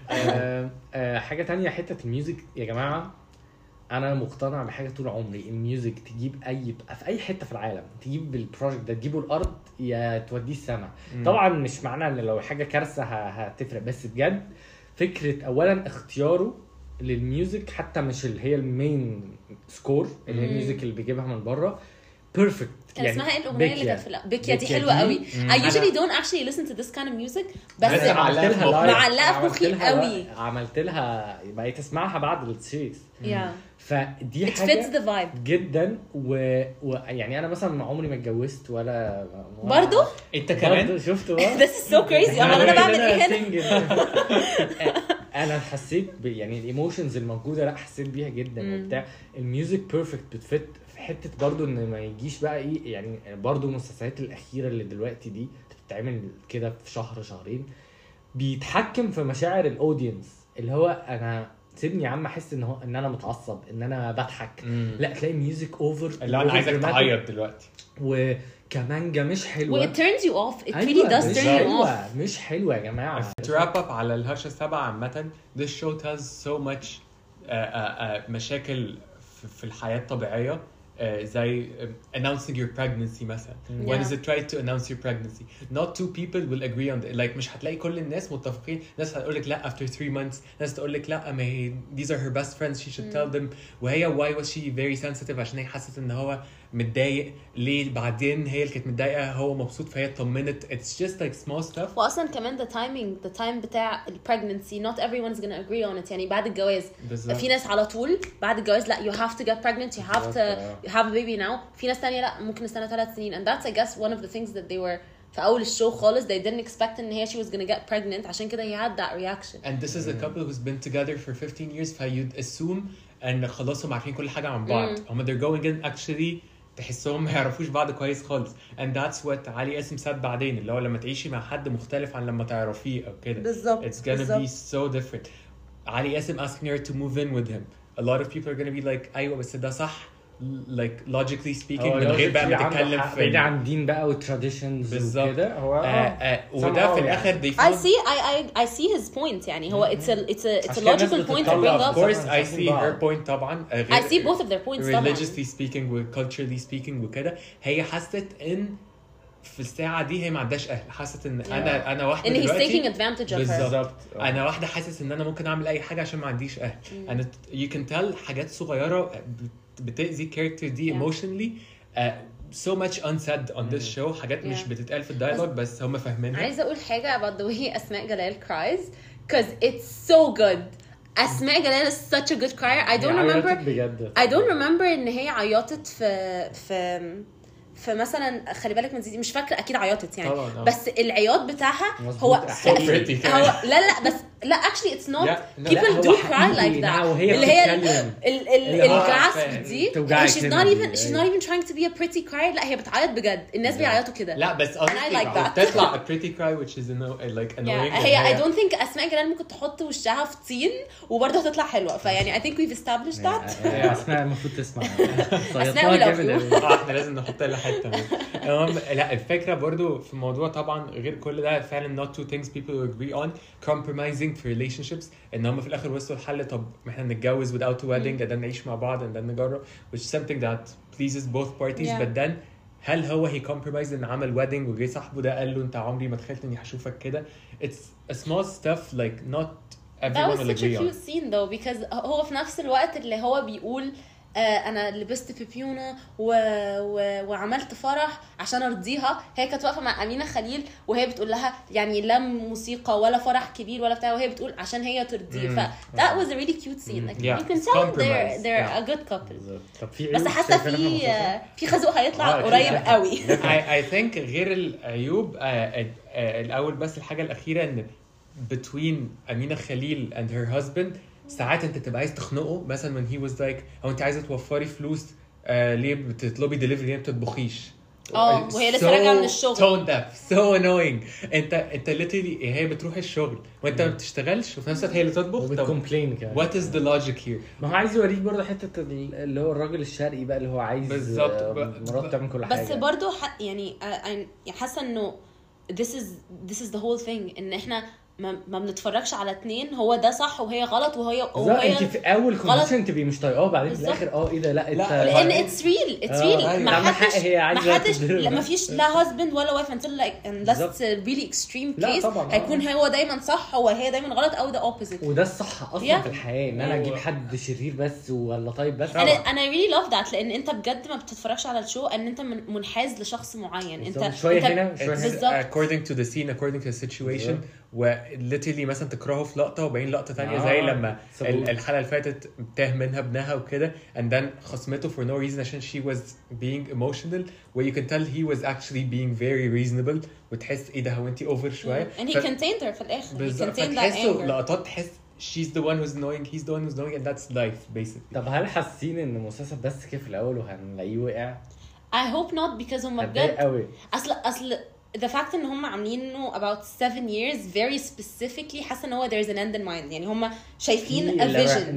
حاجة تانية، حتة الميوزك يا جماعة، انا مقتنع بحاجه طول عمري، الميوزك تجيب في اي حته في العالم، تجيب البروجكت ده تجيبه الارض يا توديه السما. طبعا مش معنى ان لو حاجه كارثه هتفرق، بس بجد فكره اولا اختياره للميوزك، حتى مش اللي هي المين سكور اللي هي الميوزك اللي بيجيبها من بره، بيرفكت. كان اسمها ايه الاغنيه اللي كانت في بيكيا دي؟ حلوه قوي. I usually don't actually listen to this kind of music، بس معلقه في مخي قوي. عملت لها بقيت اسمعها بعد السيريز. فدي It حاجه fits the vibe جدا. ويعني انا مثلا عمري ما اتجوزت ولا برضو انت كمان شفته بقى. This is so crazy. انا بعمل ايه هنا؟ انا حسيت يعني الايموشنز الموجوده، لا حسيت بيها جدا وبتاع. الميوزك بيرفكت، بتفت في حته برضو ان ما يجيش بقى ايه، يعني برضو المسلسلات الاخيره اللي دلوقتي دي بتتعمل كده في شهر شهرين، بيتحكم في مشاعر الاودينس، اللي هو انا سيبني يا عم احس ان انا متعصب، ان انا بضحك. لا تلاقي ميوزك اوفر اللي انا عايزك تعيط دلوقتي، وكمانجا مش حلوه. It turns you off. It really does turn you off. مش حلوه يا جماعه. To wrap up على الهرشة 7 عامة، this show tells so much مشاكل في الحياة الطبيعية، زي announcing your pregnancy مثلا. When is it right to announce your pregnancy? Not two people will agree on it. Like مش هتلاقي كل الناس متفقين. ناس هتقول لك لا after 3 months، ناس تقول لك لا ما هي these are her best friends she should tell them. وهي why was she very sensitive؟ عشان هي حست ان هو متضايق ليه، بعدين هي اللي كانت متضايقه هو مبسوط فهي طمنت. It's just like small stuff. واصلا كمان the time بتاع pregnancy not everyone's gonna agree on it. يعني بعد الجواز في ناس على طول بعد الجواز لا you have to get pregnant, you have to have a baby now. في ناس تانية لا ممكن استنى 3 سنين. And that's I guess one of the things that they were في اول الشو خالص they didn't expect ان هي she was gonna get pregnant. عشان كده he had that reaction. And this is a couple who's been together for 15 years فyou'd assume ان خلاص هم عارفين كل حاجه عن بعض. هم they're going in actually تحسهم ما يعرفوش بعض كويس خالص. And that's what علي قاسم ساد بعدين، اللي هو لما تعيشي مع حد مختلف عن لما تعرفيه او كده. بالظبط. It's gonna be so different. علي قاسم asking her to move in with him. A lot of people are gonna be like أيوة بس ده صح like logically speaking من غير بقى ما تتكلم في بعيد عن دين بقى والتراديشنز وكده هو وده في الاخر they I see his point يعني هو it's a logical point to bring of up. course I see her point طبعا I see both of their points طبعا. religiously speaking و culturally speaking وكده هي حست ان في الساعة دي هي ما عندهاش أهل، حست إن أنا واحدة and he's دلوقتي taking advantage of her. بالظبط. أنا واحدة حاسس إن أنا ممكن أعمل أي حاجة عشان ما عنديش أهل. أنا you can tell حاجات صغيرة بتأذي character دي emotionally so much unsaid on this show. حاجات مش بتتقال في الدايلوج بس هم فاهمينها. عايزة أقول حاجة about the way أسماء جلال cries because it's so good. أسماء جلال is such a good crier. I don't remember إن هي عيطت فمثلا خلي بالك من زيزي، مش فاكره اكيد عيطت يعني طبعا. بس العياط بتاعها هو لا بس لا actually it's not people do cry like that اللي هي الجاسp دي she's not even trying to be a pretty cry. لا هي بتعيط بجد، الناس بيعيطوا كده. لا بس تطلع a pretty cry which is like annoying. هي I don't think أسماء جلال ممكن تحط وشها في طين وبرضه هتطلع حلوة، فيعني I think we've established that. أسماء المفروض تسمع. أسماء احنا لازم نحط لها حتة. لا الفكرة برضو في الموضوع طبعا غير كل ده فعلا not two things people agree on compromising في relationships ان هم في الاخر وصلوا الحل. طب احنا نتجوز without a wedding and then نعيش مع بعض and then نجرب which is something that pleases both parties but then هل هو he compromised ان عمل wedding وجي صاحبه ده قال له انت عمري ما تخيلت اني هشوفك كده. it's a small stuff like not everyone will agree on. That was such a cute scene though because هو في نفس الوقت اللي هو بيقول انا لبست بيبيونه وعملت فرح عشان ارضيها. هي كانت واقفه مع امينه خليل وهي بتقول لها يعني لا موسيقى ولا فرح كبير ولا بتاع، وهي بتقول عشان هي ترضيه. ف that was a really cute scene like you can tell they're a good couple. بس حتى في خازوق هيطلع قريب قوي. I think غير العيوب الاول بس الحاجه الاخيره ان between امينه خليل and her husband ساعات انت تبقى عايز تخنقه مثلا when he was like او انت عايزه توفري فلوس ليه بتطلبي دليفري ليه ما بتطبخيش وهي لسه راجعه من الشغل. tone deaf so annoying. انت literally هي بتروح الشغل وانت ما بتشتغلش وفي نفس الوقت هي اللي تطبخ وبتكومبلين كده. what is the logic here؟ ما هو عايز يوريك برضه حته اللي هو الراجل الشرقي بقى اللي هو عايز مراته تعمل كل حاجه. بس برضه يعني حاسه انه this is the whole thing ان احنا ما بنتفرجش على اتنين هو ده صح وهي غلط وهي انت في اول كونفرسيشن تبقي مش طايقاه بعدين في الاخر ايه ده لا لان it's real ما حدش ما فيش لا husband ولا wife until like unless it's a really extreme case هيكون هو دايما صح وهي دايما غلط او the opposite. وده الصح اصلا في الحياه ان انا اجيب حد شرير بس ولا طيب بس. انا really love that لان انت بجد ما بتتفرجش على الشو ان انت منحاز لشخص معين. انت شويه هنا شويه according to the scene according to the situation وليتلي مثلا تكرهه في لقطه وبعدين لقطه ثانيه زي لما الحلقه اللي فاتت تاه منها ابنها وكده and then خصمته for no reason عشان she was being emotional where you can tell he was actually being very reasonable وتحس ايه ده هو انت اوفر شويه and he contained her في الاخر. he contained that anger. لقطات تحس she's the one who's annoying he's the one who's annoying and that's life basically. طب هل حاسين ان المسلسل بس كده في الاول وهنلاقيه وقع؟ I hope not because هم بجد اصل the fact ان هم عاملينه about 7 years very specifically حاسه ان هو there's an end in mind يعني هم شايفين a vision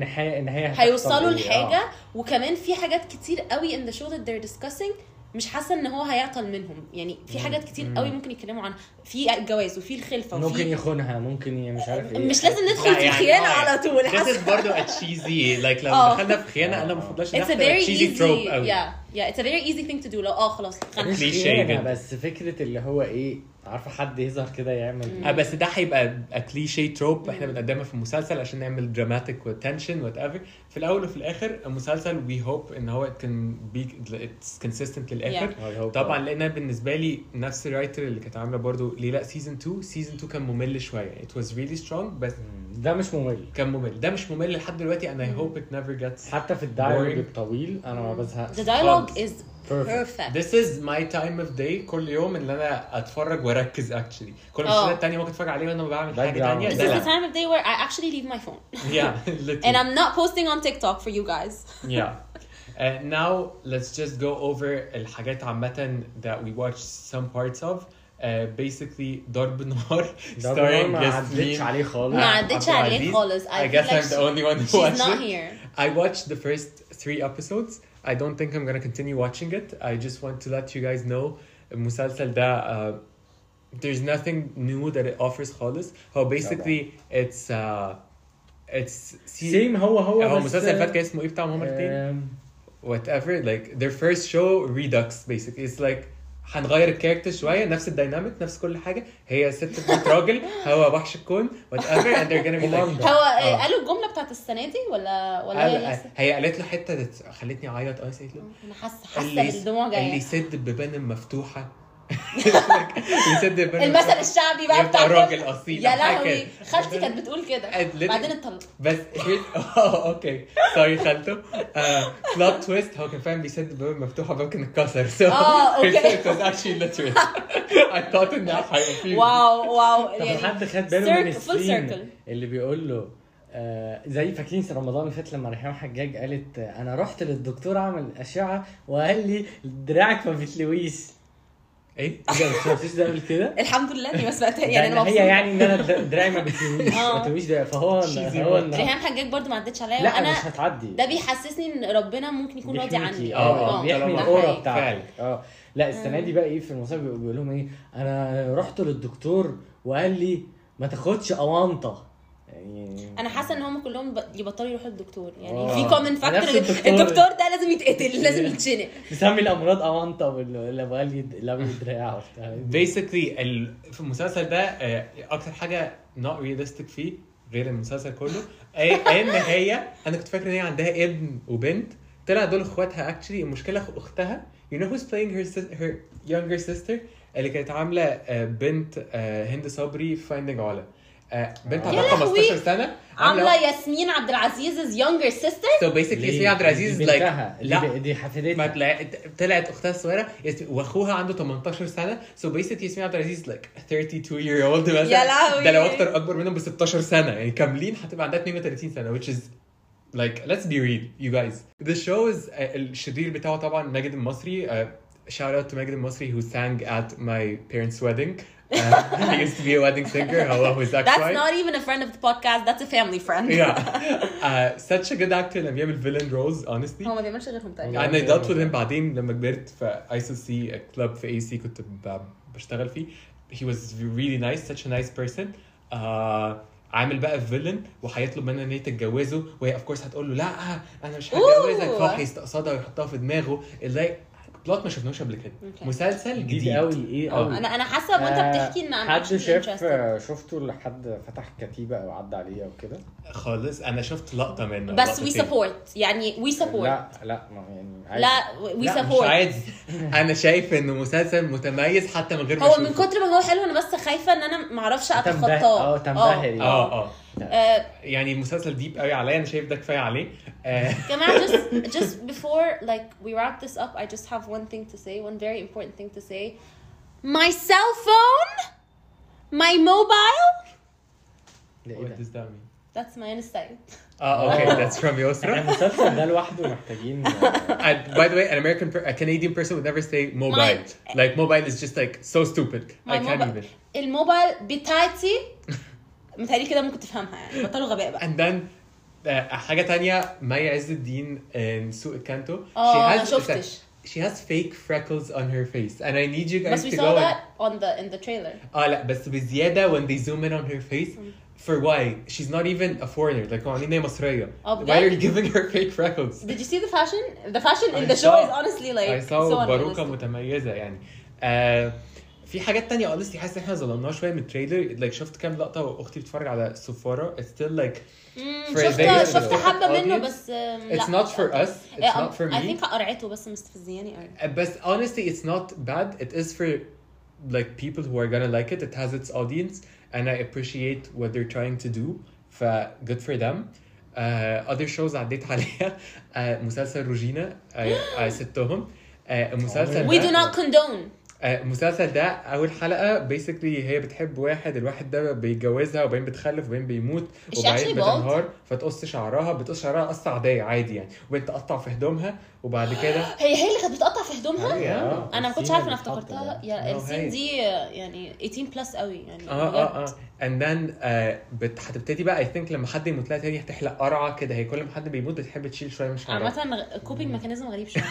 هيوصلوا لحاجه وكمان في حاجات كتير قوي in the show that they're discussing مش حاسه ان هو هيعطل منهم يعني في حاجات كتير قوي ممكن يتكلموا عنها في الجواز وفي الخلفه وفي ممكن يخونها ممكن مش عارف ايه مش لازم ندخل في خيانه على طول. this is برضه a cheesy like لو دخلنا في خيانه انا ما بفضلش it's a very cheesy trope قوي. yeah it's a very easy thing to do لو خلاص كليشيه بس فكره اللي هو ايه عارفه حد يظهر كده يعمل بس ده هيبقى كليشيه تروب احنا بنقدمها في المسلسل عشان نعمل دراماتيك وتنشن وات ايفر. في الاول وفي الاخر المسلسل وي هوب ان هو كان اتس كونسيستنت للاخر طبعا لان بالنسبه لي نفس الرايتر اللي كانت عامله برضو ليلى سيزون 2 كان ممل شويه it was really strong بس ده مش ممل كان ممل ده مش ممل لحد دلوقتي and I hope it never gets حتى في الدايلوج الطويل انا ما بزهقش. the dialogue is perfect. This is my time of day كل يوم اللي انا اتفرج واركز actually. كل المسلسلات التانية ممكن اتفرج عليها وانا بعمل حاجة تانية. This is the time of day where I actually leave my phone. Yeah, literally. And I'm not posting on TikTok for you guys. Yeah. Now let's just go over الحاجات عامة that we watched some parts of. Basically ضرب نار starring ما عدتش عليه خالص. I guess I'm the only one who watched it. She's not here. I watched the first 3 episodes. I don't think I'm gonna continue watching it. I just want to let you guys know المسلسل ده there's nothing new that it offers خالص. هو basically it's سيم هو بس المسلسل اللي فات كان اسمه ايه بتاعهم هما الاثنين؟ whatever, like their first show Redux basically. It's like هنغير الكاركتر شويه، نفس الديناميك نفس كل حاجه، هي ست بنت راجل هو وحش الكون whatever and they're gonna be like هو قالوا الجمله بتاعت السنه دي ولا هي لسه؟ هي قالت له حته خلتني اعيط. قالت له انا حاسه بالدموع جايه. اللي يسد ببان مفتوحه يسد ببان المثل الشعبي بقى بتاع الراجل اصيل. يا لهوي خالتي كانت بتقول كده بعدين اتطلق. بس اوكي سوري خالته. بلوت تويست هو كان فاهم بيسد باب مفتوحه باب كان اتكسر. اوكي it was actually literally I thought ان هيبقى فيه واو طب حد خد باله من فول السين سيركل اللي بيقول له زي فاكرين في رمضان اللي فات لما ريحان حجاج قالت انا رحت للدكتور اعمل اشعه وقال لي دراعك ما بتلويش. ايه ما شفتيش ده قبل كده؟ الحمد لله اني ما سمعتها يعني انا هي يعني ان انا دراعي ما بتلويش ده فهو ريحان حجاج برضو ما عدتش عليا. لا وانا مش هتعدي ده بيحسسني ان ربنا ممكن يكون راضي عني. بيحمي ده الاورا حقيقي. بتاعتك. لا السنه دي بقى ايه في المسابقه بيقول لهم ايه انا رحت للدكتور وقال لي ما تاخدش اوانطه. يعني انا حاسه ان هم كلهم يبطلوا يروحوا للدكتور يعني في كومن فاكتور الدكتور ده لازم يتقتل لازم يتشنق. بيسمي الامراض اوانطه ولا قال لي لو دراعه basically في المسلسل ده اكتر حاجه not realistic فيه غير المسلسل كله ان هي انا كنت فاكر ان هي عندها ابن وبنت طلع دول اخواتها actually. المشكله اختها you know who's playing her younger sister اللي كانت عامله بنت هند صبري Finding علا. بنت عندها 15 سنه عامله ياسمين عبد العزيز's younger sister. so basically ياسمين عبد العزيز like لا دي حفيدتها طلعت اختها الصغيره واخوها عنده 18 سنه so basically ياسمين عبد العزيز like 32 year old مثلا. ده لو اكبر منهم ب 16 سنه يعني كاملين هتبقى عندها 32 سنه which is like let's be real you guys. The show is الشرير بتاعه طبعا ماجد المصري. shout out to ماجد المصري who sang at my parents' wedding. He used to be a wedding singer. Who's that? That's not even a friend of the podcast. That's a family friend. Yeah. Such a good actor. لما بيعمل villain roles honestly. هو ما بيعملش غيرهم تقريبا. أنا dealt with him بعدين لما كبرت في ISOC club في AC كنت بشتغل فيه. He was really nice. Such a nice person. عامل بقى فيلن وهيطلب منها ان هي تتجوزه وهي of course هتقول له لا انا مش هتجوزك فهو هيستقصدها ويحطها في دماغه. ازاي بلوت ما شفناهوش قبل كده. مسلسل جديد قوي ايه قوي. انا حاسه وانت بتحكي ان حد شفته لحد فتح كتيبه او عدى عليها وكده خالص. انا شفت لقطه منه بس وي سبورت يعني وي سبورت. لا يعني عادي. لا وي سبورت عادي. انا شايف انه مسلسل متميز حتى من غير ما هو من كتر ما هو حلو انا بس خايفه ان انا ما اعرفش اتخطاه. تنبهر يعني المسلسل ديب قوي عليا. انا شايف ده كفايه عليه. كمان just before like we wrap this up I just have one thing to say, one very important thing to say. My cell phone, my mobile. What does that mean? That's my Instagram. Okay, that's from Yosra. المسلسل ده لوحده محتاجين. By the way, a Canadian person would never say mobile. Like mobile is just like so stupid. I can't even. الموبايل بتاعتي متهيألي كده ممكن تفهمها يعني بطلوا غباء بقى. And then حاجة تانية مي عز الدين سوق الكانتو. She has fake freckles on her face and I need you guys to go. But we saw that in the trailer. لا بس بزيادة when they zoom in on her face. For why? She's not even a foreigner. Like عاملين هي مصرية. Why are you giving her fake freckles? Did you see the fashion? The fashion in the show is honestly like I saw باروكة متميزة يعني. في حاجات تانية honestly حاسس ان احنا ظلمناها شوية من التريلر. like شفت كام لقطة واختي بتتفرج على سفارة. It's still like شفت حبة منه بس It's not for us. It's not for me. I think قرعته بس مستفزياني قوي. بس honestly it's not bad. It is for like people who are gonna like it. It has its audience and I appreciate what they're trying to do. Good for them. Other shows عديت عليها. مسلسل روجينا سبتهم. مسلسل We do not condone. المسلسل ده اول حلقه basically هي بتحب واحد، الواحد ده بيتجوزها وبعدين بتخلف وبعدين بيموت وبعدين بتنهار فتقص شعرها، بتقص شعرها قصه عاديه عادي يعني، وبعدين تقطع في هدومها وبعد كده هي اللي كانت بتقطع في هدومها. انا ما كنتش عارفه، انا السين اللي افتكرتها يا السين دي يعني 18 بلس قوي يعني. and then هتبتدي بقى I think لما حد يموت لها تاني هتحلق قرعه كده، هي كل ما حد بيموت بتحب تشيل شويه من شعرها. عامه كوبينج ميكانيزم غريب شويه.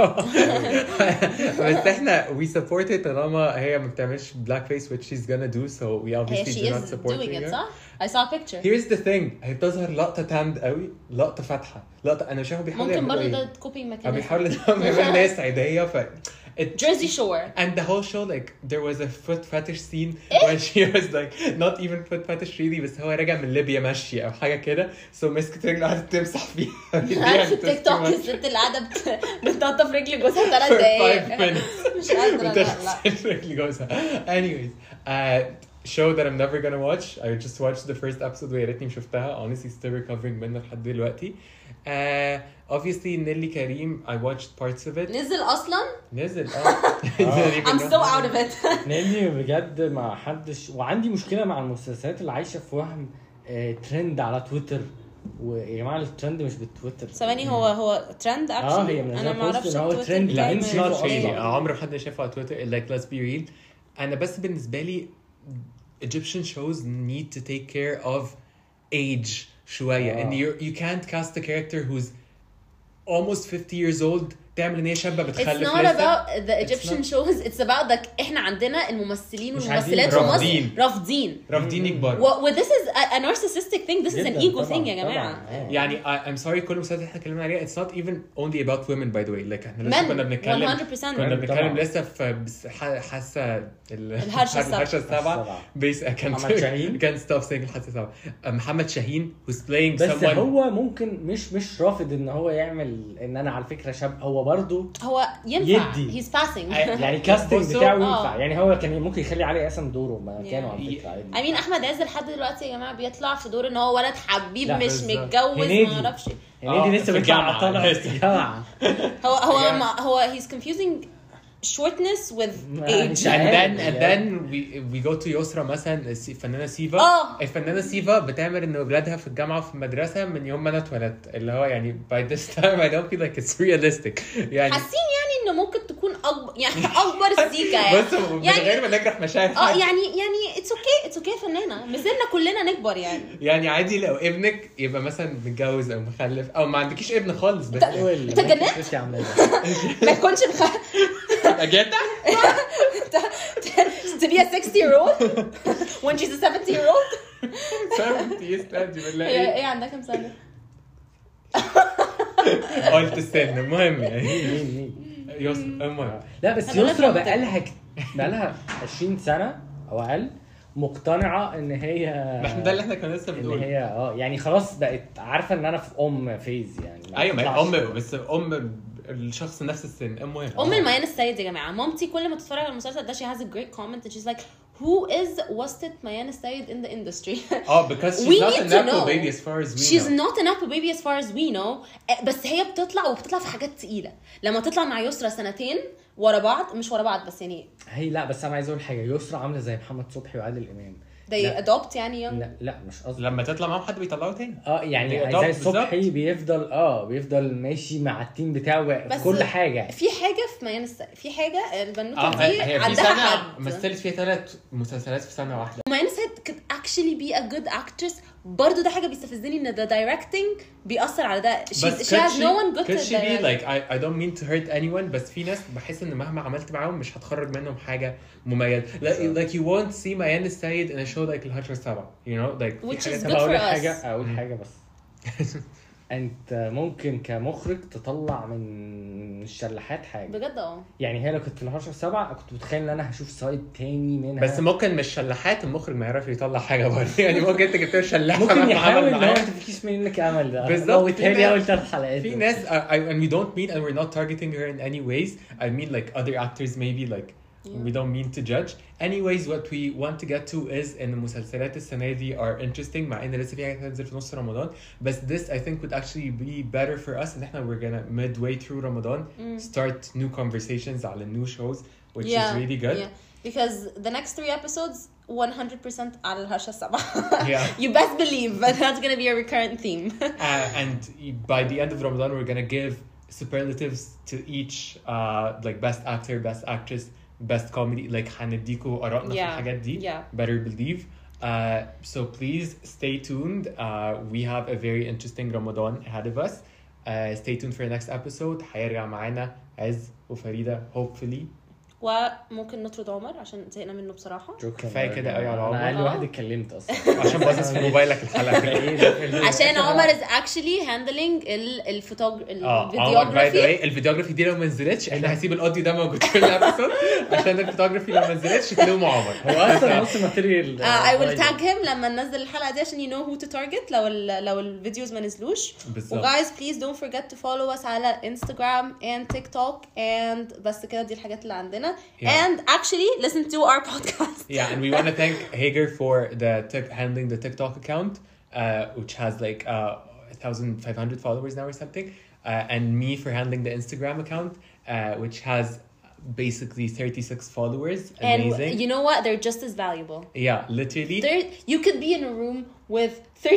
بس احنا we support it طالما هي ما بتعملش black face which she's gonna do, so we obviously do not support doing her. it صح؟ I saw a picture. Here's the thing, هي بتظهر لقطه تاند قوي، لقطه فاتحه، لقطه انا شايفه بيحاولوا ممكن برضه يعملوا ده كوبينج ميكانيزم. بيحاولوا يعملوا ناس عاديه ف Jersey Shore. And the whole show like there was a foot fetish scene when she was like not even foot fetish really, بس هو راجع من ليبيا ماشي او حاجه كده so مسكت رجله قعدت تمسح فيها. عارف التيك توك الست اللي قاعده بتقطف رجل جوزها 3 دقايق مش قادره. لا رجل جوزها. Anyways show that I'm never gonna watch. I just watched the first episode ويا ريتني شفتها. Honestly still recovering منها لحد دلوقتي. Obviously نيلي كريم I watched parts of it. نزل اصلا؟ نزل I'm so out of it. نيلي بجد ما حدش، وعندي مشكله مع المسلسلات اللي عايشه في وهم ترند على تويتر. ويا جماعه الترند مش بالتويتر. ثواني هو ترند اكشلي؟ هي انا ما اعرفش التويتر. لا انت not really really. عمر حد شافه على تويتر like let's be real. انا بس بالنسبه لي Egyptian shows need to take care of age شويه and you can't cast a character who's almost 50 years old تعمل ان هي شابه بتخلف It's not لسه. about the Egyptian shows. It's about احنا عندنا الممثلين مش والممثلات رافضين. في مصر رافضين يكبروا. This is a narcissistic thing. This is an ego thing يا جماعه. يعني I'm sorry كل مسلسل احنا اتكلمنا عليه it's not even only about women by the way. like احنا لسه Men, كنا بنتكلم 100%. كنا بنتكلم لسه في حاسه الهرشة السابعه بيس محمد شاهين. كان ستوب سينج الحاسه السابعه. محمد شاهين who's playing بس someone هو ممكن مش رافض ان هو يعمل ان انا على فكره شاب. هو برضو هو ينفع يدي. he's passing. يعني كاستنج بصوا، بتاعه ينفع. يعني هو كان ممكن يخلي علي قاسم دوره مكانه Yeah. على فكره عادي. I mean احمد عز لحد دلوقتي يا جماعه بيطلع في دور ان هو ولد حبيب لا، مش بالظبط. متجوز هنيدي. ما اعرفش. يعني دي لسه في بيطلع الجامعة. طالع في الجامعه. هو he's confusing shortness with age. and then we go to يسرا مثلا الفنانه سيفا. الفنانه سيفا بتعمل ان اولادها في الجامعه وفي المدرسه من يوم ما انا اتولدت اللي هو يعني by this time I don't feel like it's realistic يعني. حاسين يعني انه ممكن تكون اكبر يعني اكبر سيكا يعني. بس من غير ما نجرح مشاعر يعني it's okay فنانه مثلنا كلنا نكبر يعني. يعني عادي لو ابنك يبقى مثلا متجوز او مخلف او ما عندكيش ابن خالص بس انت جننت ما تكونش اجيتا to be a 60-year-old when she's a 70-year-old. 70 يستاذي بالله. ايه عندها كام سنه؟ قلت السن المهم يعني يسرا المهم. لا بس يسرا بقالها 20 سنه او اقل مقتنعه ان هي احنا ده اللي احنا كنا لسه ان بنقول هي يعني خلاص بقت عارفه ان انا في فيز يعني. ايوه ما بس الشخص نفس السن. المهم الميان السيد يا جماعه مامتي كل ما تتفرج على المسلسل ده she has a great comment and she's like who is وسطة ميان السيد in the industry. because she's not an apple baby as far as we know. She's not an apple baby as far as we know. بس هي بتطلع في حاجات تقيله. لما تطلع مع يسرا سنتين ورا بعض مش ورا بعض بس يعني هي لا بس انا عايز اقول حاجه. يسرا عامله زي محمد صبحي وعادل امام. they adopt يعني لا مش قصدي لما تطلع معاهم حد بيطلعوه تاني يعني زي صبحي بيفضل ماشي مع التيم بتاعه في كل حاجه. في حاجه في ميان السيد في حاجه البنوته دي هي في عندها سنه حد مثلت فيها 3 مسلسلات في سنه واحده. ميان السيد could actually be a good actress. برضو ده حاجه بيستفزني ان the directing بيأثر على ده. she has no one good could to she be direct. like I don't mean to hurt anyone بس في ناس بحس ان مهما عملت معاهم مش هتخرج منهم حاجه مميزه. like you won't see ميان السيد in a show like الهجرة السابعة you know like which is في good for us. اقول حاجه بس انت ممكن كمخرج تطلع من الشلاحات حاجه بجد يعني. هي لو كنت في الهرشة السابعة كنت متخيل ان انا هشوف سايد تاني منها. بس ممكن مش شلاحات المخرج ما يعرف يطلع حاجه برضه يعني ممكن انت جبت له شلاح ممكن يحاول ان هو تفكيش منك امل ده بالظبط. وتاني اول 3 حلقات في ناس and we don't mean and we're not targeting her in any ways. I mean like other actors maybe like we don't mean to judge. Anyways what we want to get to is ان المسلسلات السنه دي are interesting مع ان لسه في حاجه هتنزل في نص رمضان بس this I think would actually be better for us ان احنا we're gonna midway through Ramadan start new conversations على new shows which is really good. Yeah. Because the next 3 episodes 100% على الهرشة السبعة. Yeah. You best believe that that's gonna be a recurrent theme. And by the end of Ramadan, we're gonna give superlatives to each like best actor, best actress, best comedy. Like هنديكوا آرائنا في الحاجات دي. Better believe. So please stay tuned. We have a very interesting Ramadan ahead of us. Stay tuned for the next episode. هيرجع معانا عز وفريدة hopefully. وممكن نطرد عمر عشان زهقنا منه بصراحة. كفايه كده قوي على عمر. انا اقل واحد اتكلمت اصلا عشان باصص في موبايلك الحلقه. عشان عمر is actually handling الفيديوغرافي. الفيديوغرافي دي لو ما نزلتش احنا هسيب الاوديو ده موجود في الابيسود عشان الفيديوغرافي لو ما نزلتش تلوموا عمر. هو اصلا نص ماتيريال. I will tag him لما ننزل الحلقة دي عشان you know who to target لو الفيديوز ما نزلوش. وguys please don't forget to follow us على Instagram and TikTok and بس كده دي الحاجات اللي عندنا. And actually listen to our podcast. Yeah, and we want to thank Hager for handling the TikTok account, which has like 1,500 followers now or something, and me for handling the Instagram account, which has basically 36 followers. Amazing. And you know what? They're just as valuable. Yeah, literally. You could be in a room with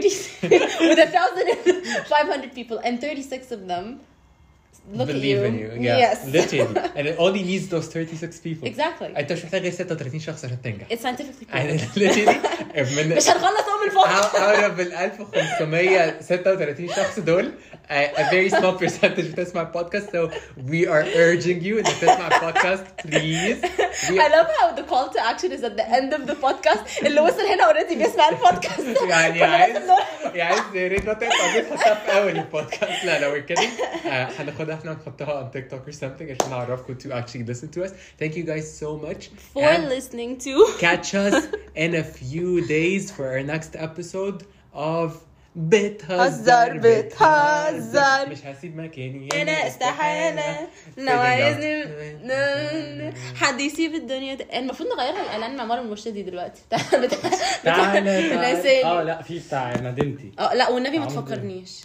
1,500 people, and 36 of them believe in you. Yeah, yes. Literally. And it only needs those 36 people. Exactly. انت مش محتاج غير 36 شخص عشان تنجح. It's scientifically proven. And literally مش هنخلص من الفوق. out of 1536 شخص دول a very small percentage بتسمع البودكاست, so we are urging you انك تسمع البودكاست please. I love how the call to action is at the end of the podcast. اللي وصل هنا already بيسمع البودكاست. يعني عايز يا ريت ما تقطع تحطها في اول البودكاست. لا we're kidding. هناخدها احنا ونحطها on TikTok or something عشان نعرفكم to actually listen to us. Thank you guys so much for listening to. Catch us in a few days for our next episode of بتهزر مش هسيب مكاني انا استحالة لو عايزني حد يسيب الدنيا دي. المفروض نغيرها الاعلان مع مروه المرشدي دلوقتي. تعالى لا في بتاع مدينتي. لا والنبي ما تفكرنيش.